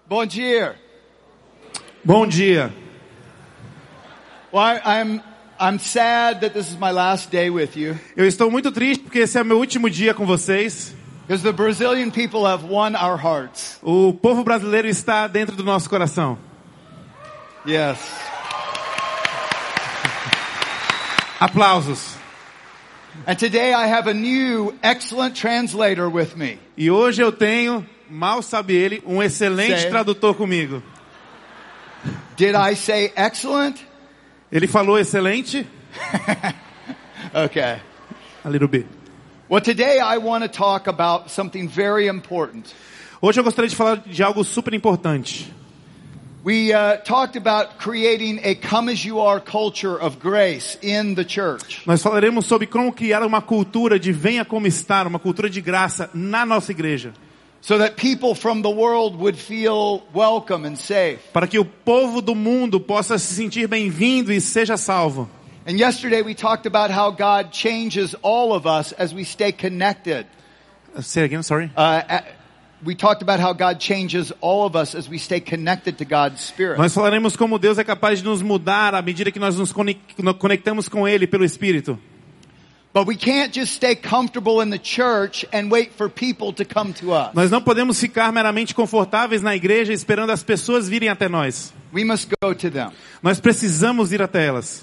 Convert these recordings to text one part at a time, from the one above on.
Bom dia. Bom dia. Well, I'm sad that this is my last day with you. Eu estou muito triste porque esse é o meu último dia com vocês. Because the Brazilian people have won our hearts. O povo brasileiro está dentro do nosso coração. Yes. Aplausos. And today I have a new excellent translator with me. E hoje eu tenho, mal sabe ele, um excelente tradutor comigo. Did I say excellent? Ele falou excelente? Okay. A little bit. Well, today I want to talk about something very important. Hoje eu gostaria de falar de algo super importante. We talked about creating a come-as-you-are culture of grace in the church. Nós falaremos sobre como criar uma cultura de venha como estar, uma cultura de graça na nossa igreja. So that people from the world would feel welcome and safe. Para que o povo do mundo possa se sentir bem-vindo e seja salvo. And yesterday we talked about how God changes all of us as we stay connected. Say again, sorry. We talked about how God changes all of us as we stay connected to God's Spirit. Nós falaremos como Deus é capaz de nos mudar à medida que nós nos conectamos com Ele pelo Espírito. But we can't just stay comfortable in the church and wait for people to come to us. Nós não podemos ficar meramente confortáveis na igreja esperando as pessoas virem até nós. We must go to them. Nós precisamos ir até elas.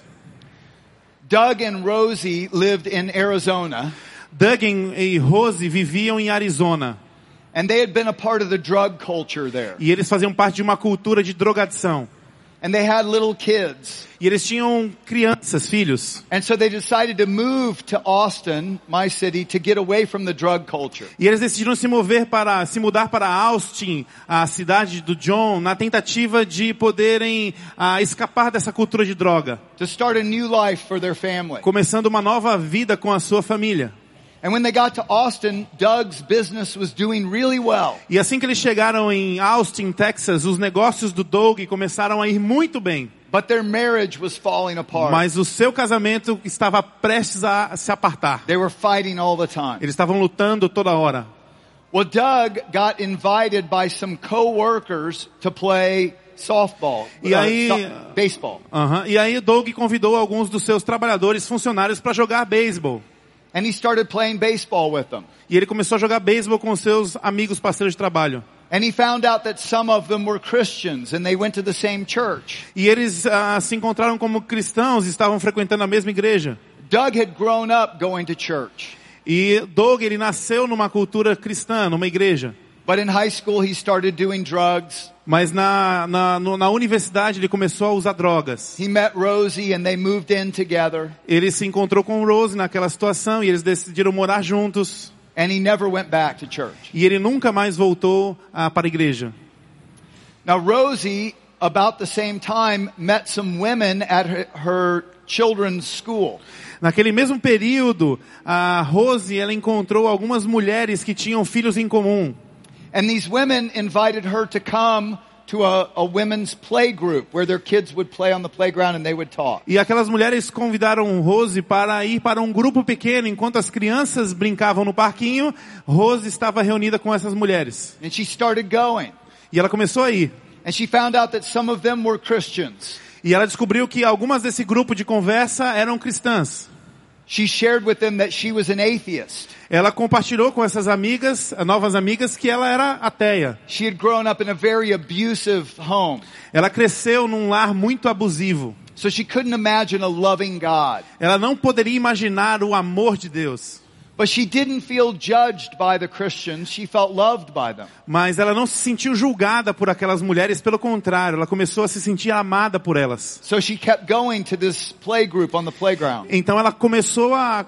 Doug and Rosie lived in Arizona. Doug e Rosie viviam em Arizona. And they had been a part of the drug culture there. E eles faziam parte de uma cultura de drogadição. And they had little kids. E eles tinham crianças, filhos. And so they decided to move to Austin, my city, to get away from the drug culture. E eles decidiram se mudar para Austin, a cidade do John, na tentativa de poderem escapar dessa cultura de droga. To start a new life for their family. Começando uma nova vida com a sua família. And when they got to Austin, Doug's business was doing really well. E assim que eles chegaram em Austin, Texas, os negócios do Doug começaram a ir muito bem. But their marriage was falling apart. Mas o seu casamento estava prestes a se apartar. They were fighting all the time. Eles estavam lutando toda hora. Well, Doug got invited by some co-workers to play softball, baseball. E aí Doug convidou alguns dos seus trabalhadores, funcionários, para jogar beisebol. And he started playing baseball with them. E ele começou a jogar beisebol com seus amigos parceiros de trabalho. And he found out that some of them were Christians and they went to the same church. E eles se encontraram como cristãos e estavam frequentando a mesma igreja. Doug had grown up going to church. E Doug, ele nasceu numa cultura cristã, numa igreja. But in high school he started doing drugs. Mas na universidade ele começou a usar drogas. He met Rosie and they moved in together. Ele se encontrou com Rosie naquela situação e eles decidiram morar juntos. And he never went back to church. E ele nunca mais voltou para a igreja. Now Rosie, about the same time, met some women at her children's school. Naquele mesmo período, a Rosie, ela encontrou algumas mulheres que tinham filhos em comum. And these women invited her to come to a women's play group where their kids would play on the playground and they would talk. E aquelas mulheres convidaram Rosie para ir para um grupo pequeno. Enquanto as crianças brincavam no parquinho, Rosie estava reunida com essas mulheres. And she started going. E ela começou a ir. And she found out that some of them were Christians. E ela descobriu que algumas desse grupo de conversa eram cristãs. She shared with them that she was an atheist. Ela compartilhou com essas amigas, novas amigas, que ela era ateia. She had grown up in a very abusive home. Ela cresceu num lar muito abusivo. So she couldn't imagine a loving God. Ela não poderia imaginar o amor de Deus. But she didn't feel judged by the Christians. She felt loved by them. Mas ela não se sentiu julgada por aquelas mulheres, pelo contrário, ela começou a se sentir amada por elas. So she kept going to this play group on the playground. Então ela começou a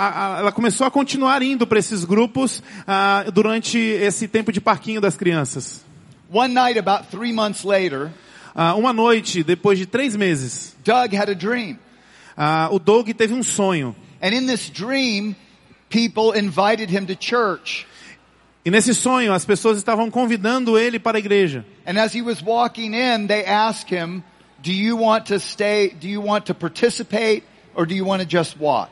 continuar indo para esses grupos durante esse tempo de parquinho das crianças. One night, about 3 months later, uma noite, depois de 3 meses, Doug had a dream. O Doug teve um sonho. And in this dream, people invited him to church. E nesse sonho, as pessoas estavam convidando ele para a igreja. And as he was walking in, they asked him, "Do you want to stay? Do you want to participate, or do you want to just watch?"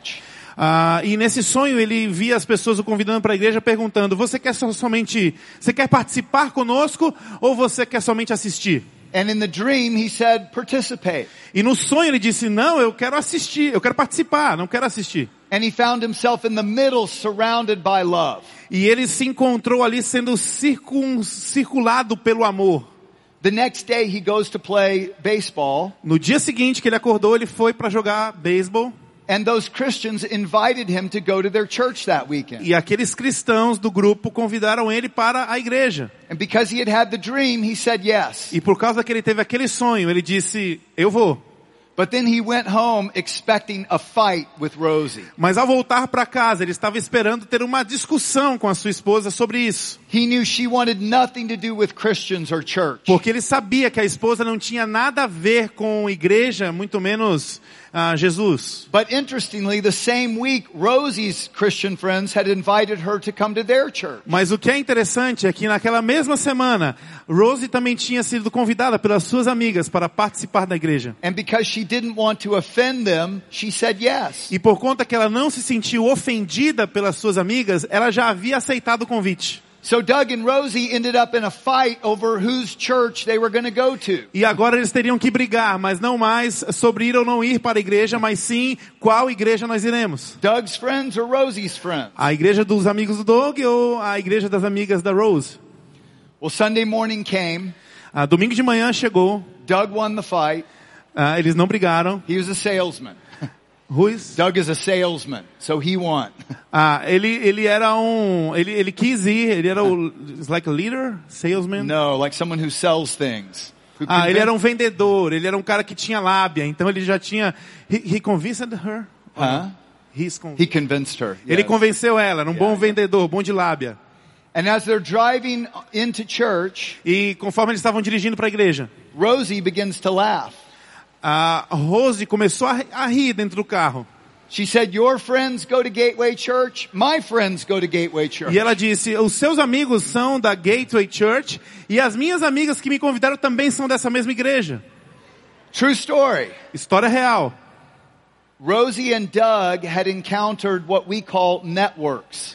E nesse sonho ele via as pessoas o convidando para a igreja perguntando, você quer participar conosco ou você quer somente assistir? And in the dream he said, participate. E no sonho ele disse, não, eu quero assistir, eu quero participar, não quero assistir. And he found himself in the middle, surrounded by love. E ele se encontrou ali sendo circulado pelo amor. The next day he goes to play baseball. No dia seguinte que ele acordou, ele foi para jogar beisebol. And those Christians invited him to go to their church that weekend. E aqueles cristãos do grupo convidaram ele para a igreja. And because he had the dream, he said yes. E por causa que ele teve aquele sonho, ele disse, eu vou. But then he went home expecting a fight with Rosie. Mas ao voltar para casa, ele estava esperando ter uma discussão com a sua esposa sobre isso. He knew she wanted nothing to do with Christians or church. Porque ele sabia que a esposa não tinha nada a ver com igreja, muito menos Jesus. But interestingly, the same week, Rosie's Christian friends had invited her to come to their church. Mas o que é interessante é que naquela mesma semana, Rosie também tinha sido convidada pelas suas amigas para participar da igreja. And because she didn't want to offend them, she said yes. E por conta que ela não se sentiu ofendida pelas suas amigas, ela já havia aceitado o convite. So Doug and Rosie ended up in a fight over whose church they were going to go to. E agora eles teriam que brigar, mas não mais sobre ir ou não ir para a igreja, mas sim qual igreja nós iremos. Doug's friends or Rosie's friends? A igreja dos amigos do Doug ou a igreja das amigas da Rose? Well, Sunday morning came. Domingo de manhã chegou. Doug won the fight. Eles não brigaram. He was a salesman. Doug is a salesman, so he won. Ele quis ir, ele era like a leader, salesman? No, like someone who sells things. Ele era um vendedor, ele era um cara que tinha lábia, então ele já tinha, he convinced her? He convinced her. Yes. Ele convenceu ela, era um bom vendedor, bom de lábia. And as they're driving into church, e conforme eles estavam dirigindo para a igreja, Rosie begins to laugh. A Rose começou a rir dentro do carro. She said, "Your friends go to Gateway Church, my friends go to Gateway Church." E ela disse, os seus amigos são da Gateway Church e as minhas amigas que me convidaram também são dessa mesma igreja. True story. História real. Rosie and Doug had encountered what we call networks.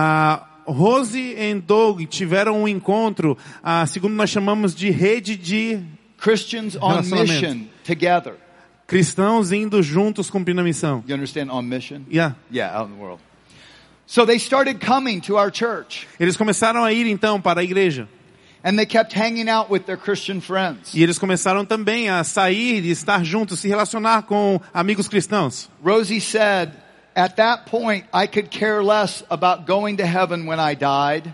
Rosie e Doug tiveram um encontro, segundo nós chamamos de rede de Christians on mission together. Cristãos indo juntos cumprindo a missão. You understand on mission? Yeah. Yeah, out in the world. So they started coming to our church. Eles começaram a ir então para a igreja. And they kept hanging out with their Christian friends. E eles começaram também a sair e estar juntos, se relacionar com amigos cristãos. Rosie said, "At that point, I could care less about going to heaven when I died."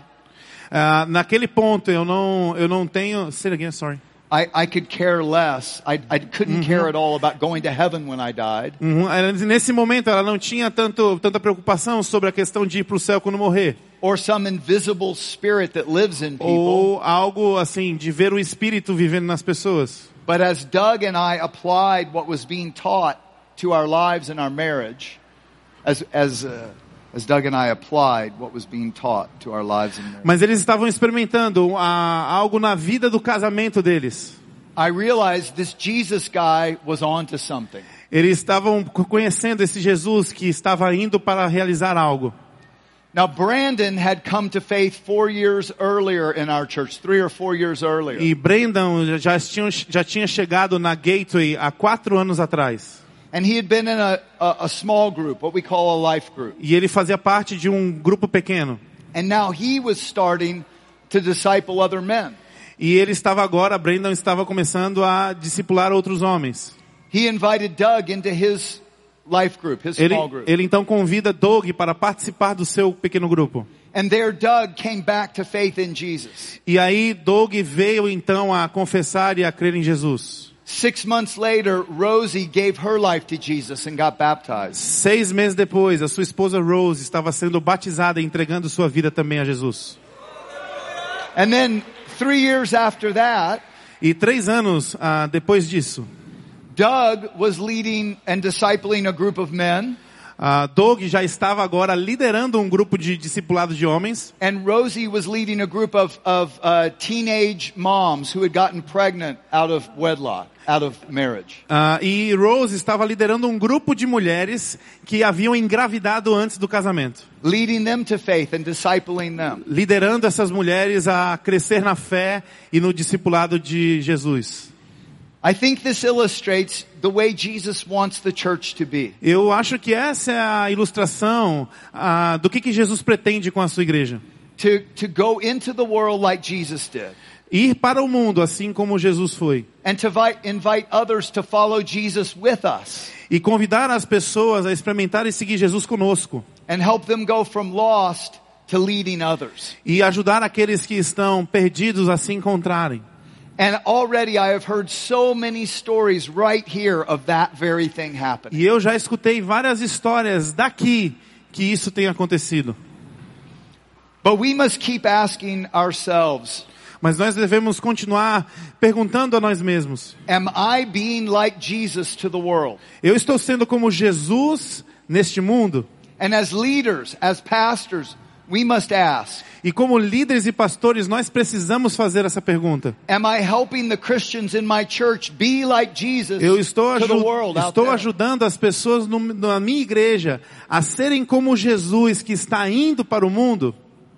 Naquele ponto eu não tenho. Say it again, sorry. I could care less. I couldn't care at all about going to heaven when I died. Nesse momento ela não tinha tanta preocupação sobre a questão de ir para o céu quando morrer. Or some invisible spirit that lives in people. Ou algo assim de ver o espírito vivendo nas pessoas. But as Doug and I applied what was being taught to our lives and our marriage, as Doug and I applied what was being taught to our lives and marriage. Mas eles estavam experimentando algo na vida do casamento deles. I realized this Jesus guy was onto something. Eles estavam conhecendo esse Jesus que estava indo para realizar algo. Now Brandon had come to faith 4 years earlier in our church, 3 or 4 years earlier. E Brandon já tinha chegado na Gateway há 4 anos atrás. And he had been in a small group, what we call a life group. E ele fazia parte de um grupo pequeno. And now he was starting to disciple other men. E Brandon estava começando a discipular outros homens. He invited Doug into his life group, his small group. Ele então convida Doug para participar do seu pequeno grupo. And there Doug came back to faith in Jesus. E aí Doug veio então a confessar e a crer em Jesus. 6 months later, Rosie gave her life to Jesus and got baptized. 6 meses depois, a sua esposa Rose estava sendo batizada e entregando sua vida também a Jesus. And then 3 years after that, e 3 anos depois disso, Doug was leading and discipling a group of men. Doug já estava agora liderando um grupo de discipulado de homens. And Rosie was leading a group of teenage moms who had gotten pregnant out of wedlock, out of marriage. E Rose estava liderando um grupo de mulheres que haviam engravidado antes do casamento. Leading them to faith and discipling them. Liderando essas mulheres a crescer na fé e no discipulado de Jesus. I think this illustrates the way Jesus wants the church to be. Eu acho que essa é a ilustração do que Jesus pretende com a sua igreja. To go into the world like Jesus did. Ir para o mundo assim como Jesus foi. And to invite others to follow Jesus with us. E convidar as pessoas a experimentar e seguir Jesus conosco. And help them go from lost to leading others. E ajudar aqueles que estão perdidos a se encontrarem. And already I have heard so many stories right here of that very thing happening. E eu já escutei várias histórias daqui que isso tem acontecido. But we must keep asking ourselves, mas nós devemos continuar perguntando a nós mesmos. Am I being like Jesus to the world? Eu estou sendo como Jesus neste mundo? And as leaders, as pastors, we must ask. E como líderes e pastores, nós precisamos fazer essa pergunta. Am I helping the Christians in my church be like Jesus Eu estou to the world out there? ajudando as pessoas na minha igreja a serem como Jesus que está indo para o mundo?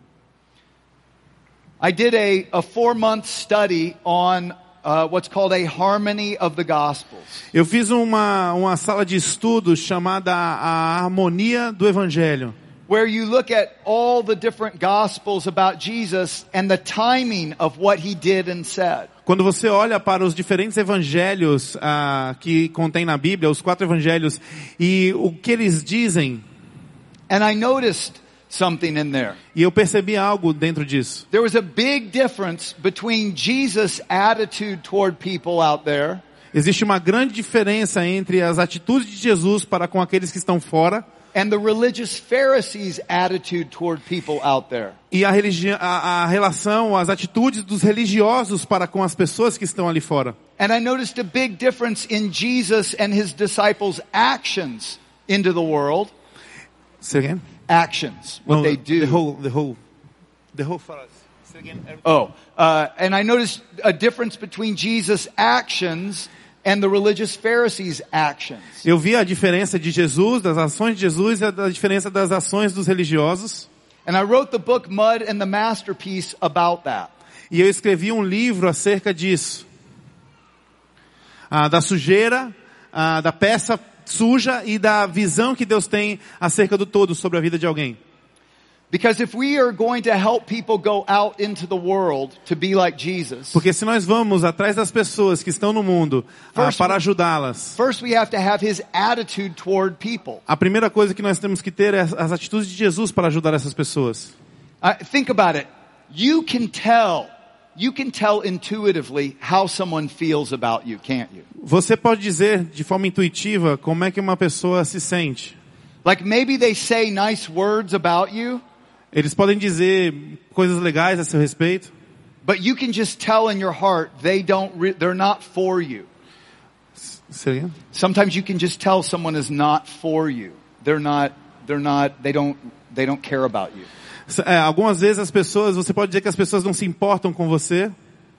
I did a 4-month study on what's called a harmony of the Gospels. Eu fiz uma sala de estudos chamada a harmonia do Evangelho. Where you look at all the different Gospels about Jesus and the timing of what he did and said. Quando você olha para os diferentes evangelhos que contém na Bíblia, os 4 evangelhos, e o que eles dizem. And I noticed something in there. E eu percebi algo dentro disso. There was a big difference between Jesus' attitude toward people out there. Existe uma grande diferença entre as atitudes de Jesus para com aqueles que estão fora. And the religious Pharisees' attitude toward people out there. E a relação, as atitudes dos religiosos para com as pessoas que estão ali fora. And I noticed a big difference in Jesus and his disciples' actions into the world. Say again? Actions, what they do. The whole for us. Say again. And I noticed a difference between Jesus' actions and the religious Pharisees' actions. Eu vi a diferença de Jesus, das ações de Jesus, e a diferença das ações dos religiosos. And I wrote the book Mud and the Masterpiece about that. E eu escrevi um livro acerca disso. Da sujeira, da peça suja e da visão que Deus tem acerca do todo sobre a vida de alguém. Because if we are going to help people go out into the world to be like Jesus. Porque se nós vamos atrás das pessoas que estão no mundo para ajudá-las. First we have to have his attitude toward people. A primeira coisa que nós temos que ter é as atitudes de Jesus para ajudar essas pessoas. Think about it. You can tell intuitively how someone feels about you, can't you? Você pode dizer de forma intuitiva como é que uma pessoa se sente. Like maybe they say nice words about you. Eles podem dizer coisas legais a seu respeito. But you can just tell in your heart they're not for you. Seria? Sometimes you can just tell someone is not for you. They don't care about you. Algumas vezes você pode dizer que as pessoas não se importam com você.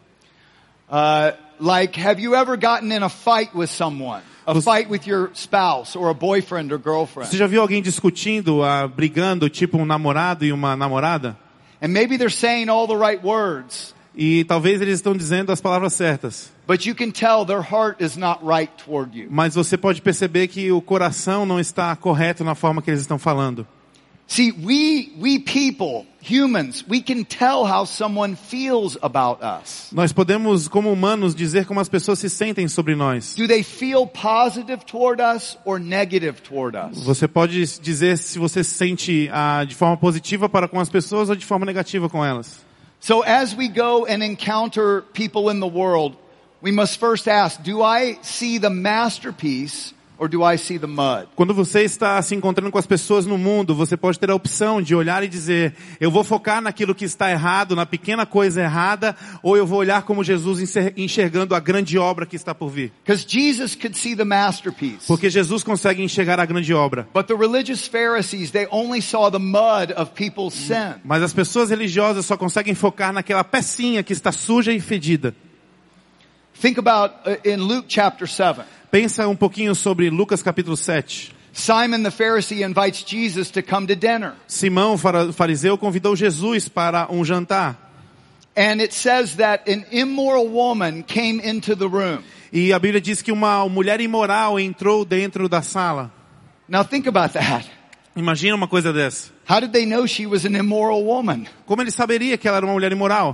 Like, have you ever gotten in a fight with someone? A fight with your spouse or a boyfriend or girlfriend? Você já viu alguém discutindo, brigando, tipo um namorado e uma namorada? And maybe they're saying all the right words. E talvez eles estão dizendo as palavras certas. But you can tell their heart is not right toward you. Mas você pode perceber que o coração não está correto na forma que eles estão falando. See, we people, humans, we can tell how someone feels about us. Nós podemos, como humanos, dizer como as pessoas se sentem sobre nós. Do they feel positive toward us or negative toward us? Você pode dizer se você se sente de forma positiva para com as pessoas ou de forma negativa com elas. So as we go and encounter people in the world, we must first ask, do I see the masterpiece or do I see the mud? Quando você está se encontrando com as pessoas no mundo, você pode ter a opção de olhar e dizer, eu vou focar naquilo que está errado, na pequena coisa errada, ou eu vou olhar como Jesus enxergando a grande obra que está por vir. Because Jesus could see the masterpiece. Porque Jesus consegue enxergar a grande obra. But the religious Pharisees, they only saw the mud of people's sin. Mas as pessoas religiosas só conseguem focar naquela pecinha que está suja e fedida. Think about in Luke chapter 7. Pensa um pouquinho sobre Lucas capítulo 7. Simon the Pharisee invites Jesus to come to dinner. Simão, fariseu, convidou Jesus para um jantar. And it says that an immoral woman came into the room. E a Bíblia diz que uma mulher imoral entrou dentro da sala. Now think about that. Imagina uma coisa dessa. How did they know she was an immoral woman? Como ele saberia que ela era uma mulher imoral?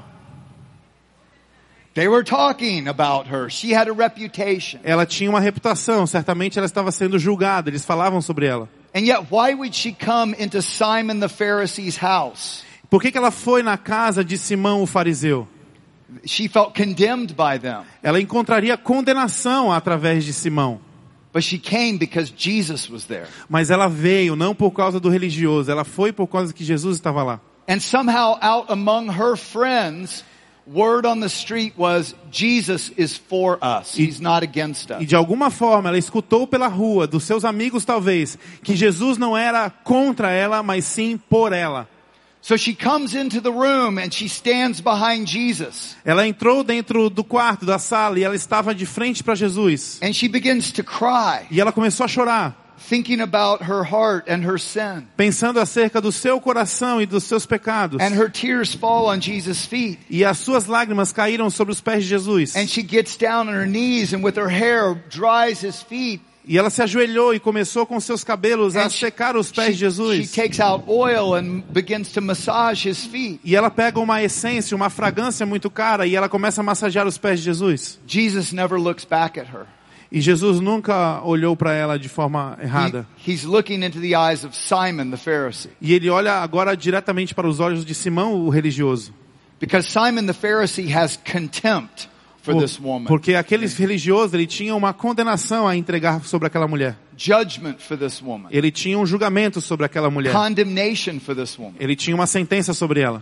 They were talking about her. She had a reputation. Ela tinha uma reputação, certamente ela estava sendo julgada, eles falavam sobre ela. And yet why would she come into Simon the Pharisee's house? Por que ela foi na casa de Simão o fariseu? She felt condemned by them. Ela encontraria condenação através de Simão. But she came because Jesus was there. Mas ela veio não por causa do religioso, ela foi por causa que Jesus estava lá. And somehow out among her friends, word on the street was, Jesus is for us. He's not against us. E de alguma forma ela escutou pela rua, dos seus amigos talvez, que Jesus não era contra ela, mas sim por ela. So she comes into the room and she stands behind Jesus. Ela entrou dentro do quarto, da sala, e ela estava de frente para Jesus. And she begins to cry, E ela começou a chorar, thinking about her heart and her sin. pensando acerca do seu coração e dos seus pecados. And her tears fall on Jesus' feet. E as suas lágrimas caíram sobre os pés de Jesus. And she gets down on her knees and with her hair dries his feet. E ela se ajoelhou e começou com seus cabelos a secar os pés de She Jesus. takes out oil and begins to massage his feet. E ela pega uma essência, uma fragrância muito cara, e ela começa a massagear os pés de Jesus. Jesus never looks back at her. E Jesus nunca olhou para ela de forma errada. He's looking into the eyes of Simon the Pharisee. E ele olha agora diretamente para os olhos de Simão, o religioso. Because Simon the Pharisee has contempt for this woman. Porque aquele religioso, ele tinha uma condenação a entregar sobre aquela mulher. Judgment for this woman. Ele tinha um julgamento sobre aquela mulher. Condemnation for this woman. Ele tinha uma sentença sobre ela.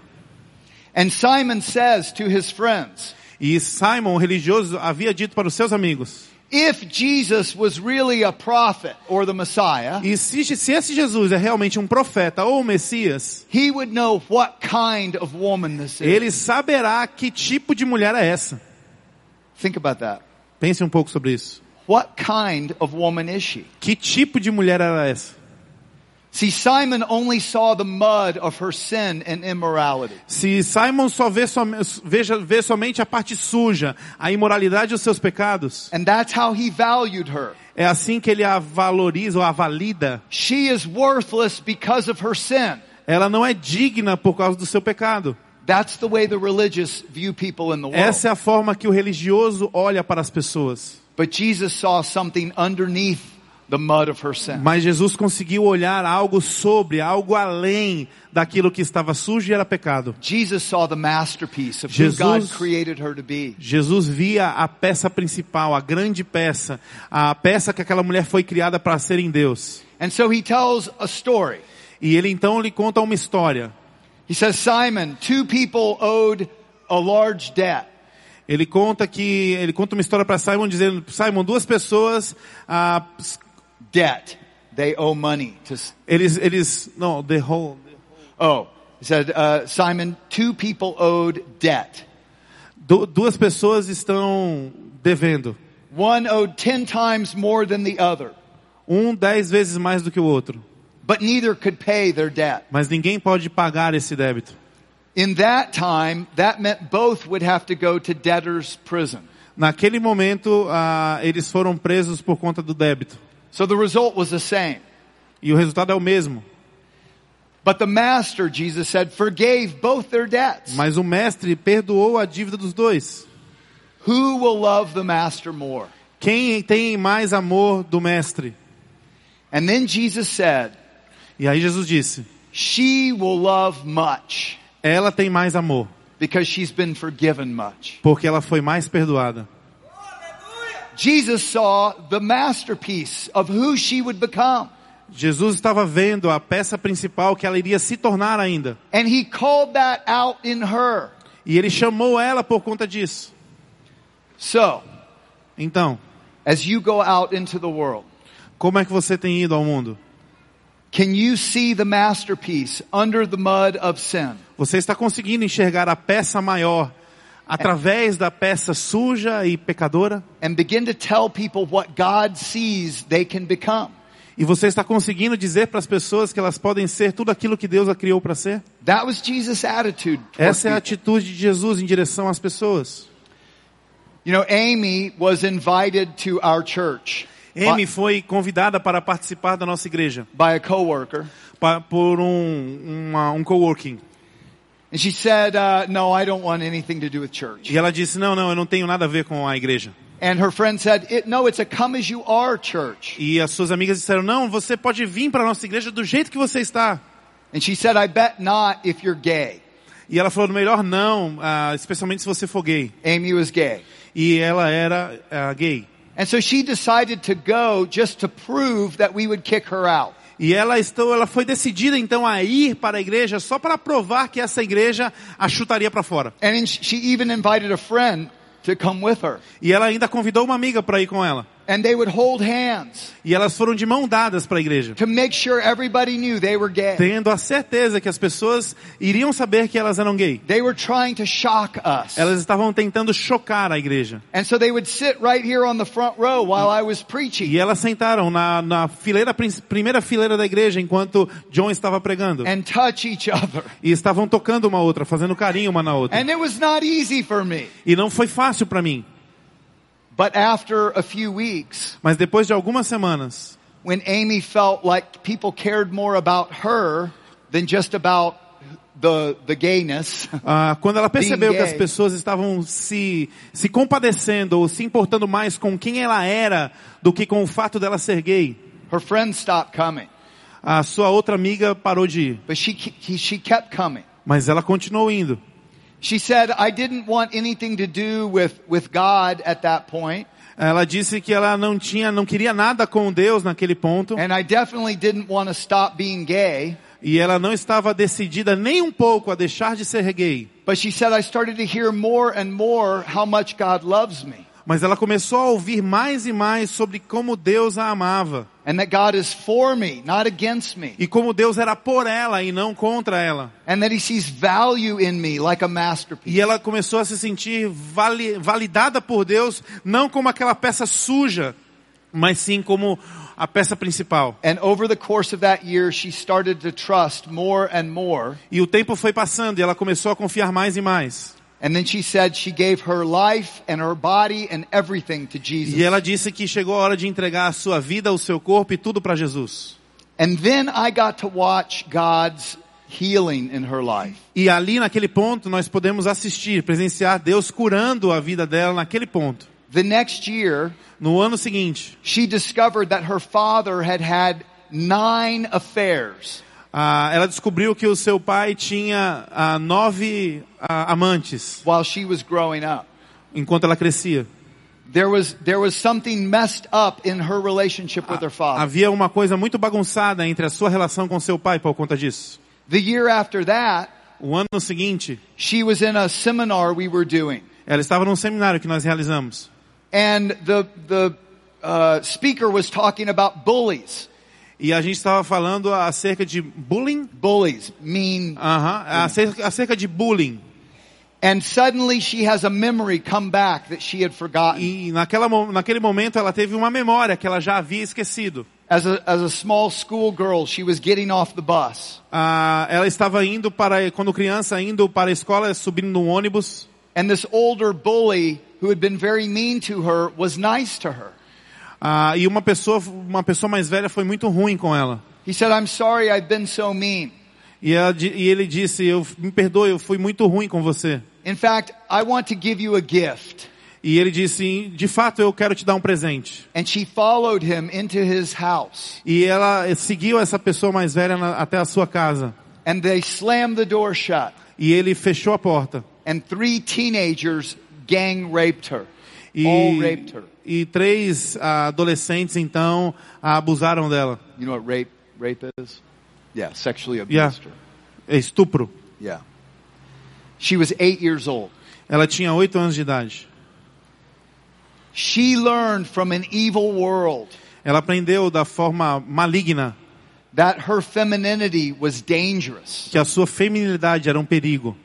And Simon says to his friends, E Simon, o religioso, havia dito para os seus amigos: if Jesus was really a prophet or the Messiah, e se esse Jesus é realmente um profeta ou um Messias, he would know what kind of woman this is. ele saberá que tipo de mulher é essa. Think about that. Pense um pouco sobre isso. What kind of woman is she? Que tipo de mulher era essa? See, Simon only saw the mud of her sin and immorality. Se Simon só vê somente a parte suja, a imoralidade e os seus pecados, And that's how he valued her. é assim que ele a valoriza ou a valida. She is worthless because of her sin. Ela não é digna por causa do seu pecado. That's the way the religious view people in the world. Essa é a forma que o religioso olha para as pessoas. But Jesus saw something underneath the mud of her sin. Mas Jesus conseguiu olhar algo sobre, algo além daquilo que estava sujo e era pecado. Jesus saw the masterpiece of who God created her to be. Jesus via a peça principal, a grande peça, a peça que aquela mulher foi criada para ser em Deus. And so he tells a story. E ele então lhe conta uma história. He says, Simon, two people owed a large debt. Ele conta uma história para Simon dizendo: Simon, duas pessoas Debt. They owe money to. Oh, he said, Simon, two people owed debt. Duas pessoas estão devendo. One owed 10 times more than the other. 10 vezes mais do que o outro. But neither could pay their debt. Mas ninguém pode pagar esse débito. In that time, that meant both would have to go to debtor's prison. Naquele momento, eles foram presos por conta do débito. So the result was the same. E o resultado é o mesmo. But the master, Jesus said, forgave both their debts. Mas o mestre perdoou a dívida dos dois. Who will love the master more? Quem tem mais amor do mestre? And then Jesus said, E aí Jesus disse: she will love much. Ela tem mais amor. Because she's been forgiven much. Porque ela foi mais perdoada. Jesus saw the masterpiece of who she would become. Jesus estava vendo a peça principal que ela iria se tornar ainda. And he called that out in her. E ele chamou ela por conta disso. So, Então, as you go out into the world, como é que você tem ido ao mundo? can you see the masterpiece under the mud of sin? Você está conseguindo enxergar a peça maior através da peça suja e pecadora? And begin to tell people what God sees they can become. E você está conseguindo dizer para as pessoas que elas podem ser tudo aquilo que Deus a criou para ser? That was Jesus' attitude. Essa é a atitude de Jesus em direção às pessoas. You know, Amy was invited to our church Amy foi convidada para participar da nossa igreja by a coworker. por um coworking. And she said, no, I don't want anything to do with church. E ela disse, não, eu não tenho nada a ver com a igreja. And her friend said, no, it's a come as you are church. E as suas amigas disseram, não, você pode vir para a nossa igreja do jeito que você está. And she said, I bet not if you're gay. E ela falou, melhor não, especialmente se você for gay. Amy was gay. E ela era gay. And so she decided to go just to prove that we would kick her out. E ela foi decidida então a ir para a igreja só para provar que essa igreja a chutaria para fora. And she even invited a friend to come with her. E ela ainda convidou uma amiga para ir com ela. And they would hold hands E elas foram de mão dadas para a igreja, to make sure everybody knew they were gay. tendo a certeza que as pessoas iriam saber que elas eram gay. They were trying to shock us. Elas estavam tentando chocar a igreja. And so they would sit right here on the front row while I was preaching. E elas sentaram na primeira fileira da igreja enquanto John estava pregando. And touch each other. E estavam tocando uma outra, fazendo carinho uma na outra. And it was not easy for me. E não foi fácil para mim. But after a few weeks, Mas depois de algumas semanas, when Amy felt like people cared more about her than just about the gayness, quando ela percebeu Being que as gay. pessoas estavam se compadecendo ou se importando mais com quem ela era do que com o fato dela ser gay, her friends stopped coming. a sua outra amiga parou de ir. But she kept coming. Mas ela continuou indo. She said, I didn't want anything to do with God at that point. Ela disse que ela não queria nada com Deus naquele ponto. And I definitely didn't want to stop being gay. E ela não estava decidida nem um pouco a deixar de ser gay. But she said, I started to hear more and more how much God loves me. Mas ela começou a ouvir mais e mais sobre como Deus a amava. And that God is for me, not against me. E como Deus era por ela e não contra ela. And that He sees value in me like a masterpiece. E ela começou a se sentir validada por Deus, não como aquela peça suja, mas sim como a peça principal. And over the course of that year, she started to trust more and more. E o tempo foi passando e ela começou a confiar mais e mais. And then she said she gave her life and her body and everything to Jesus. E ela disse que chegou a hora de entregar a sua vida, o seu corpo e tudo para Jesus. And then I got to watch God's healing in her life. E ali naquele ponto nós podemos assistir, presenciar Deus curando a vida dela naquele ponto. The next year, No ano seguinte, she discovered that her father had 9 affairs. ela descobriu que o seu pai tinha 9 amantes While she was growing up. enquanto ela crescia. There was something messed up in her relationship with her father. Havia uma coisa muito bagunçada entre a sua relação com seu pai por conta disso. The year after that, O ano seguinte, she was in a seminar we were doing. ela estava num seminário que nós realizamos. And the speaker was talking about bullies. E a gente estava falando acerca de bullying. Bullies mean. Acerca de bullying. And suddenly she has a memory come back that she had forgotten. E naquele momento ela teve uma memória que ela já havia esquecido. As a small school girl, she was getting off the bus. Ela estava quando criança, indo para a escola, subindo num ônibus. And this older bully who had been very mean to her was nice to her. E uma pessoa mais velha foi muito ruim com ela. He said, I'm sorry I've been so mean. E ele disse, me perdoe, eu fui muito ruim com você. In fact, I want to give you a gift. E ele disse, de fato eu quero te dar um presente. And she followed him into his house. E ela seguiu essa pessoa mais velha até a sua casa. And they slammed the door shut. E ele fechou a porta. And 3 teenagers gang raped her. all raped her. E 3 adolescentes então a abusaram dela. You know what rape is? Yeah, sexually abused her. É estupro. Yeah. She was 8 years old. Ela tinha 8 anos de idade. She learned from an evil world Ela aprendeu da forma maligna that her femininity was dangerous. que a sua feminilidade era um perigo.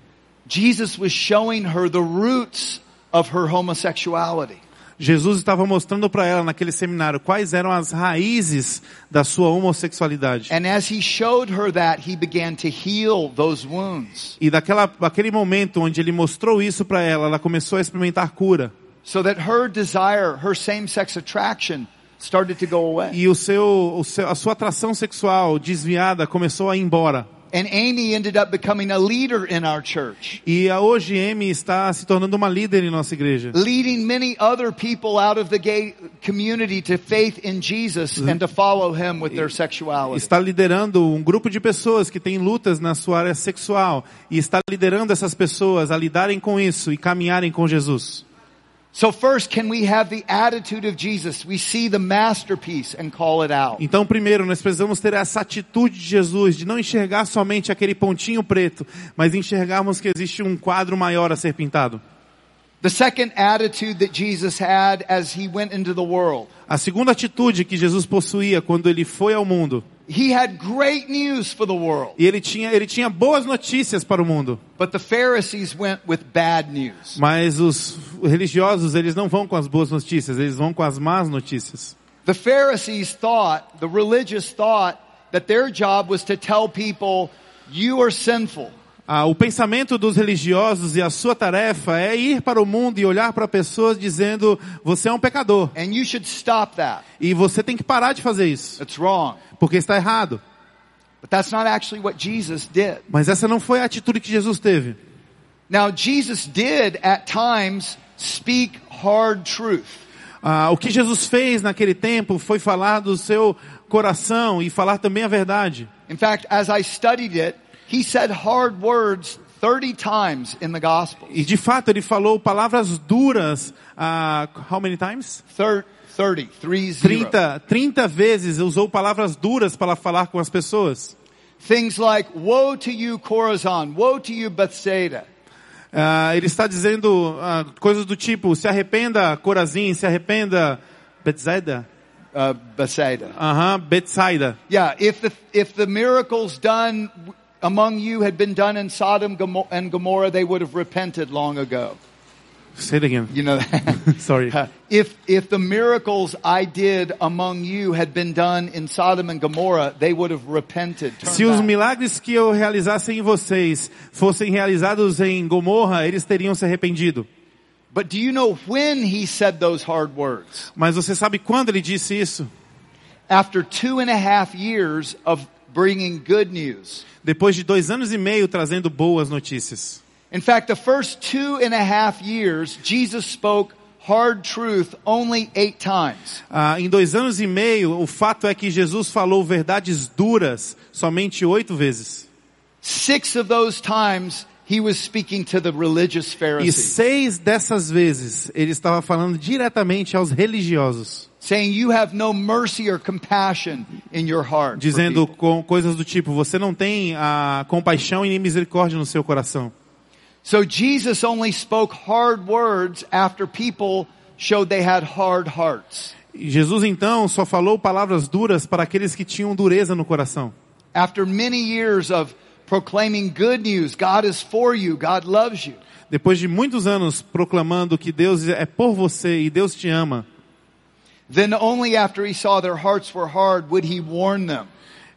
Jesus was showing her the roots of her homosexuality. Jesus estava mostrando para ela naquele seminário quais eram as raízes da sua homossexualidade. And as he showed her that, he began to heal those wounds. E daquele momento onde ele mostrou isso para ela, ela começou a experimentar cura. So that her desire, her same-sex attraction started to go away. E a sua atração sexual desviada começou a ir embora. And Amy ended up becoming a leader in our church. E hoje Amy está se tornando uma líder em nossa igreja. Leading many other people out of the gay community to faith in Jesus and to follow him with their sexuality. Está liderando um grupo de pessoas que têm lutas na sua área sexual. E está liderando essas pessoas a lidarem com isso e caminharem com Jesus. So first, can we have the attitude of Jesus? We see the masterpiece and call it out. Então, primeiro, nós precisamos ter essa atitude de Jesus, de não enxergar somente aquele pontinho preto, mas enxergarmos que existe um quadro maior a ser pintado. The second attitude that Jesus had as he went into the world. A segunda atitude que Jesus possuía quando ele foi ao mundo. He had great news for the world. E ele tinha boas notícias para o mundo. But the Pharisees went with bad news. Mas os religiosos, eles não vão com as boas notícias, eles vão com as más notícias. The Pharisees the religious thought that their job was to tell people, you are sinful. O pensamento dos religiosos e a sua tarefa é ir para o mundo e olhar para pessoas dizendo, você é um pecador. And you should stop that. E você tem que parar de fazer isso. That's wrong. Porque está errado. But that's not actually what Jesus did. Mas essa não foi a atitude que Jesus teve. Now, Jesus did, at times, speak hard truth. O que Jesus fez naquele tempo foi falar do seu coração e falar também a verdade. In fact, as I studied it, he said hard words 30 times in the Gospels. E de fato ele falou palavras duras, how many times? 30 vezes usou palavras duras para falar com as pessoas. Things like, woe to you Chorazin, woe to you Bethsaida. Ele está dizendo coisas do tipo, se arrependa Chorazin, se arrependa Bethsaida. Bethsaida. Bethsaida. Yeah, if the miracles done among you had been done in Sodom and Gomorrah, they would have repented long ago. Say it again. You know that? Sorry. If the miracles I did among you had been done in Sodom and Gomorrah, they would have repented. Se os milagres que eu realizasse em vocês fossem realizados em Gomorra, eles teriam se arrependido. But do you know when he said those hard words? Mas você sabe quando ele disse isso? After 2.5 years of bringing good news. Depois de 2 anos e meio trazendo boas notícias. In fact, the first 2.5 years, Jesus spoke hard truth only 8 times. Em 2 anos e meio, o fato é que Jesus falou verdades duras somente 8 vezes. 6 of those times, he was speaking to the religious E Pharisees. 6 dessas vezes, ele estava falando diretamente aos religiosos. Saying you have no mercy or compassion in your heart. Dizendo com coisas do tipo, você não tem compaixão e nem misericórdia no seu coração. So Jesus only spoke hard words after people showed they had hard hearts. E Jesus então só falou palavras duras para aqueles que tinham dureza no coração. After many years of proclaiming good news, God is for you, God loves you. Depois de muitos anos proclamando que Deus é por você e Deus te ama. Then only after he saw their hearts were hard would he warn them.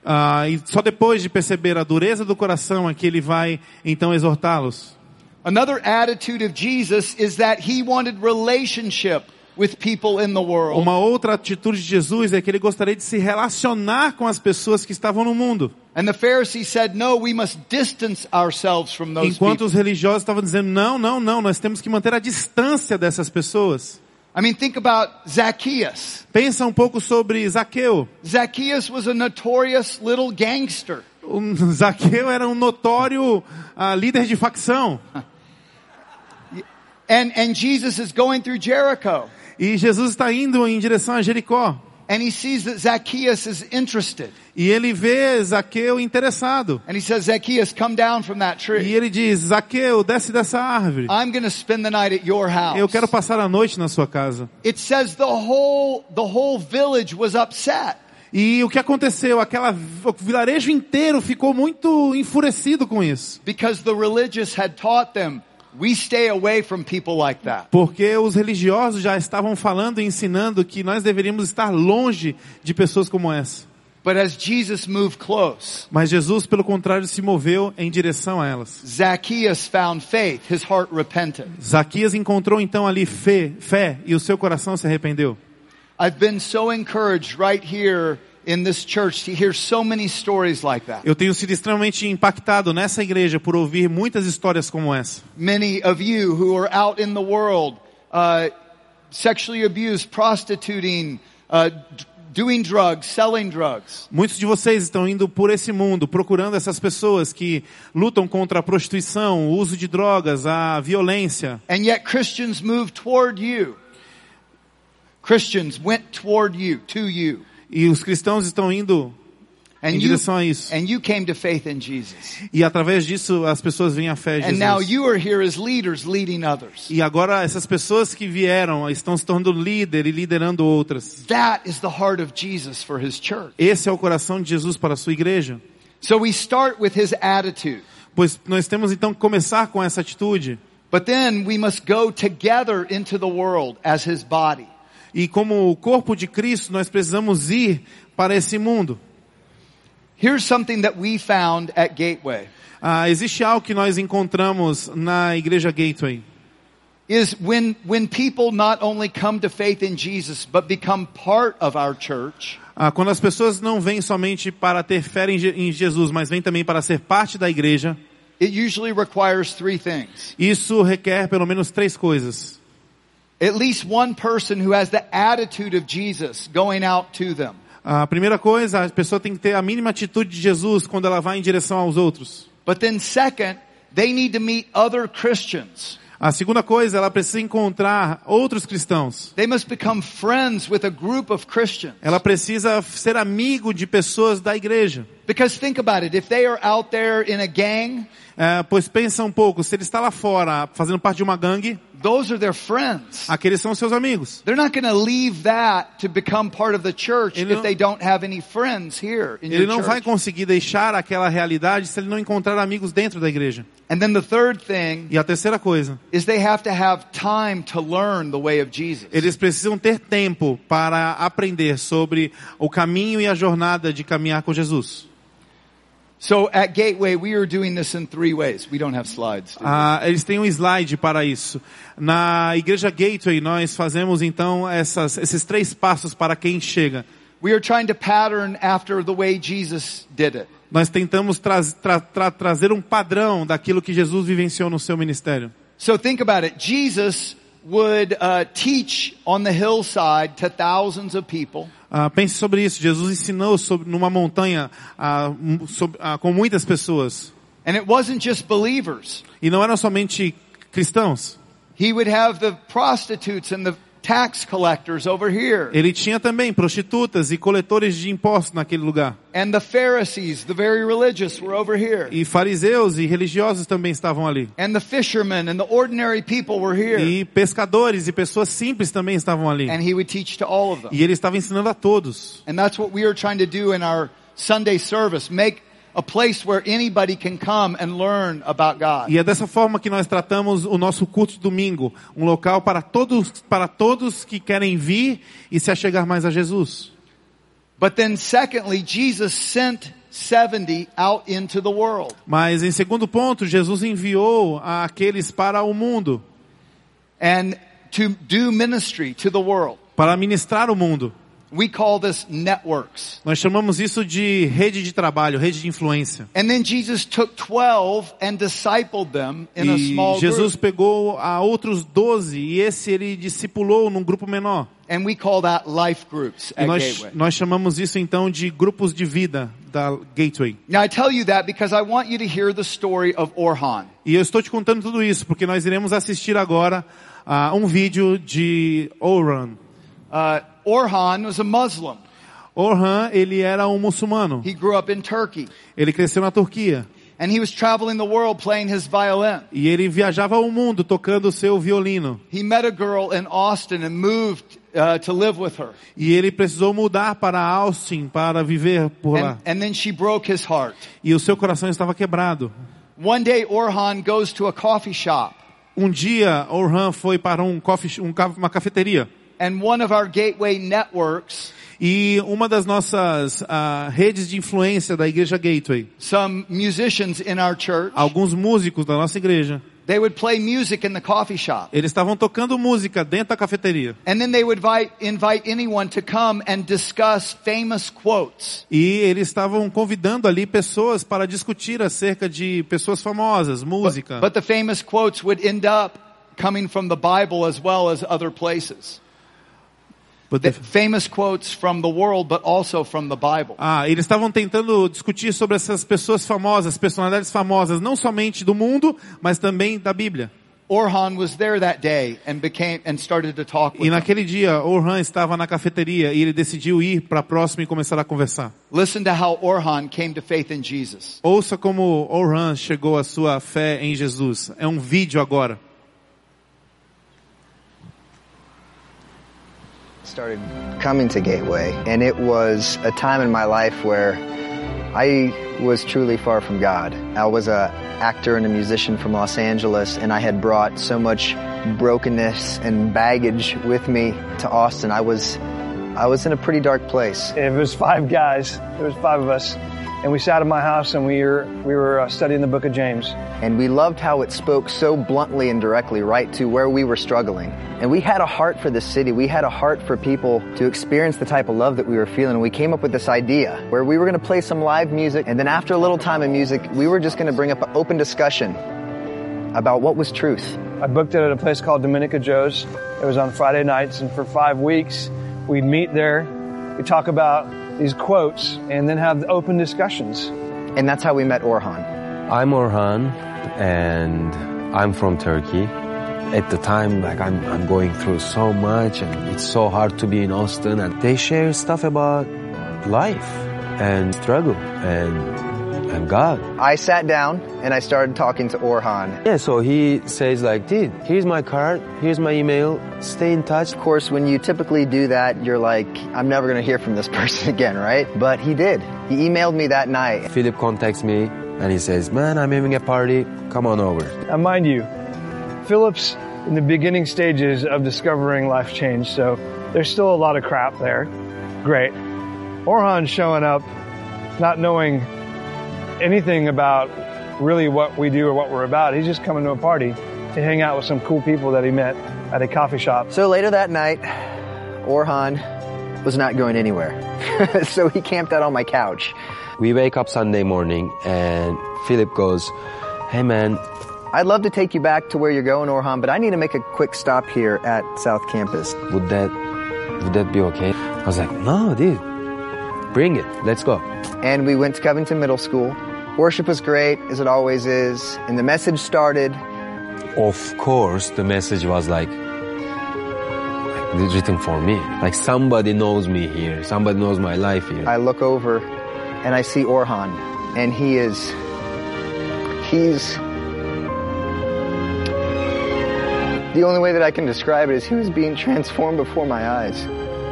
E só depois de perceber a dureza do coração é que ele vai então exortá-los. Another attitude of Jesus is that he wanted relationship with people in the world. Uma outra atitude de Jesus é que ele gostaria de se relacionar com as pessoas que estavam no mundo. And the Pharisees said, no, we must distance ourselves from those Enquanto people. os religiosos estavam dizendo, não, nós temos que manter a distância dessas pessoas. I mean, think about Zacchaeus. Pensa um pouco sobre Zaqueu. Zacchaeus was a notorious little gangster. O Zaqueu era um notório líder de facção. And Jesus is going through Jericho. E Jesus está indo em direção a Jericó. And he sees that Zacchaeus is interested. E ele vê Zaqueu interessado. And he says, Zacchaeus, come down from that E tree. ele diz, Zaqueu, desce dessa árvore. I'm going to spend the night at your house. Eu quero passar a noite na sua casa. It says the whole village was upset. E o que aconteceu? O vilarejo inteiro ficou muito enfurecido com isso. Because the religious had taught them, we stay away from people like that. Porque os religiosos já estavam falando e ensinando que nós deveríamos estar longe de pessoas como essa. But as Jesus moved close, Mas Jesus, pelo contrário, se moveu em direção a elas. Zacchaeus found faith. His heart repented. Zaquias encontrou então ali fé e o seu coração se arrependeu. I've been so encouraged right here in this church to hear so many stories like that. Eu tenho sido extremamente impactado nessa igreja por ouvir muitas histórias como essa. Many of you who are out in the world, sexually abused, prostituting, doing drugs, selling drugs. Muitos de vocês estão indo por esse mundo, procurando essas pessoas que lutam contra a prostituição, o uso de drogas, a violência. And yet Christians moved toward you. Christians went toward you, to you. E os cristãos estão indo em direção a isso. And you came to faith in Jesus. E através disso as pessoas vêm à fé em And now Jesus. you are here as leaders leading others. E agora essas pessoas que vieram estão se tornando líder e liderando outras. That is the heart of Jesus for his church. Esse é o coração de Jesus para a sua igreja. So we start with his attitude. Pois nós temos então que começar com essa atitude. But then we must go together into the world as his body. E como o corpo de Cristo, nós precisamos ir para esse mundo. Here's something that we found at Gateway. Existe algo que nós encontramos na igreja Gateway. Is when people not only come to faith in Jesus, but become part of our church. Quando as pessoas não vêm somente para ter fé em Jesus, mas vêm também para ser parte da igreja. It usually requires three things. Isso requer pelo menos 3 coisas. At least one person who has the attitude of Jesus going out to them. A primeira coisa, a pessoa tem que ter a mínima atitude de Jesus quando ela vai em direção aos outros. But then second, they need to meet other Christians. A segunda coisa, ela precisa encontrar outros cristãos. They must become friends with a group of Christians. Ela precisa ser amigo de pessoas da igreja. Because think about it, if they are out there in a gang, Pois pensa um pouco, se ele está lá fora fazendo parte de uma gangue, those are their friends. aqueles são seus amigos. They're not going to leave that to become part of the church Ele if não- they don't have any friends here in Ele your não vai church. conseguir deixar aquela realidade se ele não encontrar amigos dentro da igreja. And then the third thing E a terceira coisa, is they have to have time to learn the way of Jesus. eles precisam ter tempo para aprender sobre o caminho e a jornada de caminhar com Jesus. So at Gateway, we are doing this in 3 ways. We don't have slides. do we? Eles têm um slide para isso. Na igreja Gateway, nós fazemos então esses 3 passos para quem chega. We are trying to pattern after the way Jesus did it. Nós tentamos trazer um padrão daquilo que Jesus vivenciou no seu ministério. So think about it. Jesus would teach on the hillside to thousands of people. Pense sobre isso. Jesus ensinou numa montanha com muitas pessoas. And it wasn't just believers. E não eram somente cristãos. He would have the prostitutes and the tax collectors over here. Ele tinha também prostitutas e coletores de impostos naquele lugar. And the Pharisees, the very religious, were over here. E fariseus e religiosos também estavam ali. And the fishermen and the ordinary people were here. E pescadores e pessoas simples também estavam ali. And he would teach to all of them. E ele estava ensinando a todos. And that's what we are trying to do in our Sunday service. Make a place where anybody can come and learn about God. E é dessa forma que nós tratamos o nosso culto de domingo. Um local para todos que querem vir e se achegar mais a Jesus. But then secondly, Jesus sent 70 out into the world. Mas em segundo ponto, Jesus enviou aqueles para o mundo. And to do ministry to the world. Para ministrar o mundo. We call this networks. Nós chamamos isso de rede de trabalho, rede de influência. And then Jesus took 12 and discipled them in a E small Jesus group. pegou a outros 12 e esse ele discipulou num grupo menor. And we call that life groups E at Gateway. nós chamamos isso então de grupos de vida da Gateway. Now I tell you that because I want you to hear the story of Orhan. E eu estou te contando tudo isso porque nós iremos assistir agora um vídeo de Orhan. Orhan was a Muslim. Orhan, ele era um muçulmano. He grew up in Turkey. Ele cresceu na Turquia. And he was traveling the world playing his violin. E ele viajava o mundo tocando o seu violino. He met a girl in Austin and moved to live with her. E ele precisou mudar para Austin para viver por lá. And then she broke his heart. E o seu coração estava quebrado. One day Orhan goes to a coffee shop. Um dia Orhan foi para uma cafeteria. And one of our gateway networks, e uma das nossas redes de influência da igreja Gateway, some musicians in our church, alguns músicos da nossa igreja, they would play music in the coffee shop. Eles estavam tocando música dentro da cafeteria. And then they would invite anyone to come and discuss famous quotes. E eles estavam convidando ali pessoas para discutir acerca de pessoas famosas, música. But the famous quotes would end up coming from the Bible as well as other places. Famous quotes from the world, but also from the Bible. Eles estavam tentando discutir sobre essas pessoas famosas, personalidades famosas, não somente do mundo, mas também da Bíblia. Orhan was there that day and started to talk with E naquele dia, Orhan estava na cafeteria e ele decidiu ir para próximo e começar a conversar. Listen to how Orhan came to faith in Jesus. Ouça como Orhan chegou à sua fé em Jesus. É um vídeo agora. Started coming to Gateway, and it was a time in my life where I was truly far from God. I was an actor and a musician from Los Angeles, and I had brought so much brokenness and baggage with me to Austin. I was in a pretty dark place. It was 5 guys. There was 5 of us. And we sat in my house and we were studying the book of James. And we loved how it spoke so bluntly and directly right to where we were struggling. And we had a heart for the city. We had a heart for people to experience the type of love that we were feeling. And we came up with this idea where we were going to play some live music. And then after a little time of music, we were just going to bring up an open discussion about what was truth. I booked it at a place called Dominica Joe's. It was on Friday nights. And for 5 weeks, we'd meet there. We'd talk about these quotes and then have open discussions. And that's how we met Orhan. I'm Orhan and I'm from Turkey. At the time, I'm going through so much and it's so hard to be in Austin, and they share stuff about life and struggle and God. I sat down and I started talking to Orhan. Yeah, so he says dude, here's my card, here's my email, stay in touch. Of course, when you typically do that, you're like, I'm never going to hear from this person again, right? But he did. He emailed me that night. Philip contacts me and he says, man, I'm having a party, come on over. Now mind you, Philip's in the beginning stages of discovering life change, so there's still a lot of crap there. Great. Orhan's showing up, not knowing anything about really what we do or what we're about. He's just coming to a party to hang out with some cool people that he met at a coffee shop. So later that night, Orhan was not going anywhere. So he camped out on my couch. We wake up Sunday morning and Philip goes, hey man, I'd love to take you back to where you're going, Orhan, but I need to make a quick stop here at South Campus. Would that be okay? I was like, no, dude, bring it. Let's go. And we went to Covington Middle School. Worship was great, as it always is. And the message started. Of course, the message was like written for me. Like somebody knows me here. Somebody knows my life here. I look over and I see Orhan. And he's the only way that I can describe it is he was being transformed before my eyes.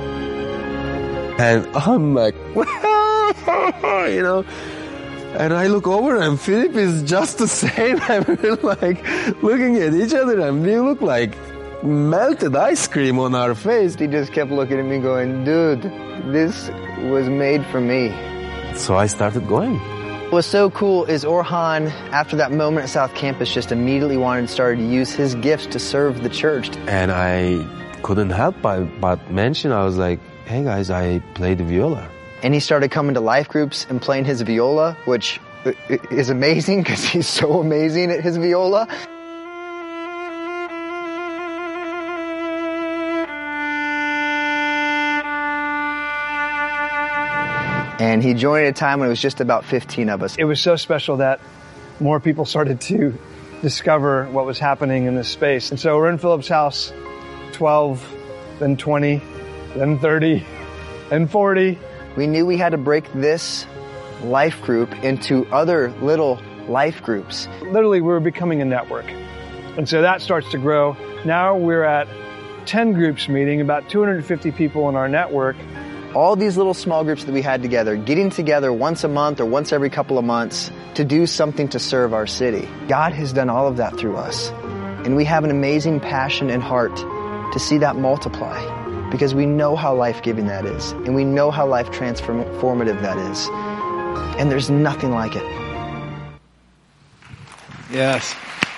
And I'm like, you know, and I look over and Philip is just the same. And we're like looking at each other and we look like melted ice cream on our face. He just kept looking at me going, dude, this was made for me. So I started going. What's so cool is Orhan, after that moment at South Campus, just immediately started to use his gifts to serve the church. And I couldn't help but mention, I was like, hey guys, I play the viola. And he started coming to life groups and playing his viola, which is amazing because he's so amazing at his viola. And he joined at a time when it was just about 15 of us. It was so special that more people started to discover what was happening in this space. And so we're in Philip's house, 12, then 20, then 30, and 40. We knew we had to break this life group into other little life groups. Literally, we were becoming a network. And so that starts to grow. Now we're at 10 groups meeting, about 250 people in our network. All these little small groups that we had together, getting together once a month or once every couple of months to do something to serve our city. God has done all of that through us. And we have an amazing passion and heart to see that multiply because we know how life-giving that is. And we know how life transformative that is. And there's nothing like it. Yes.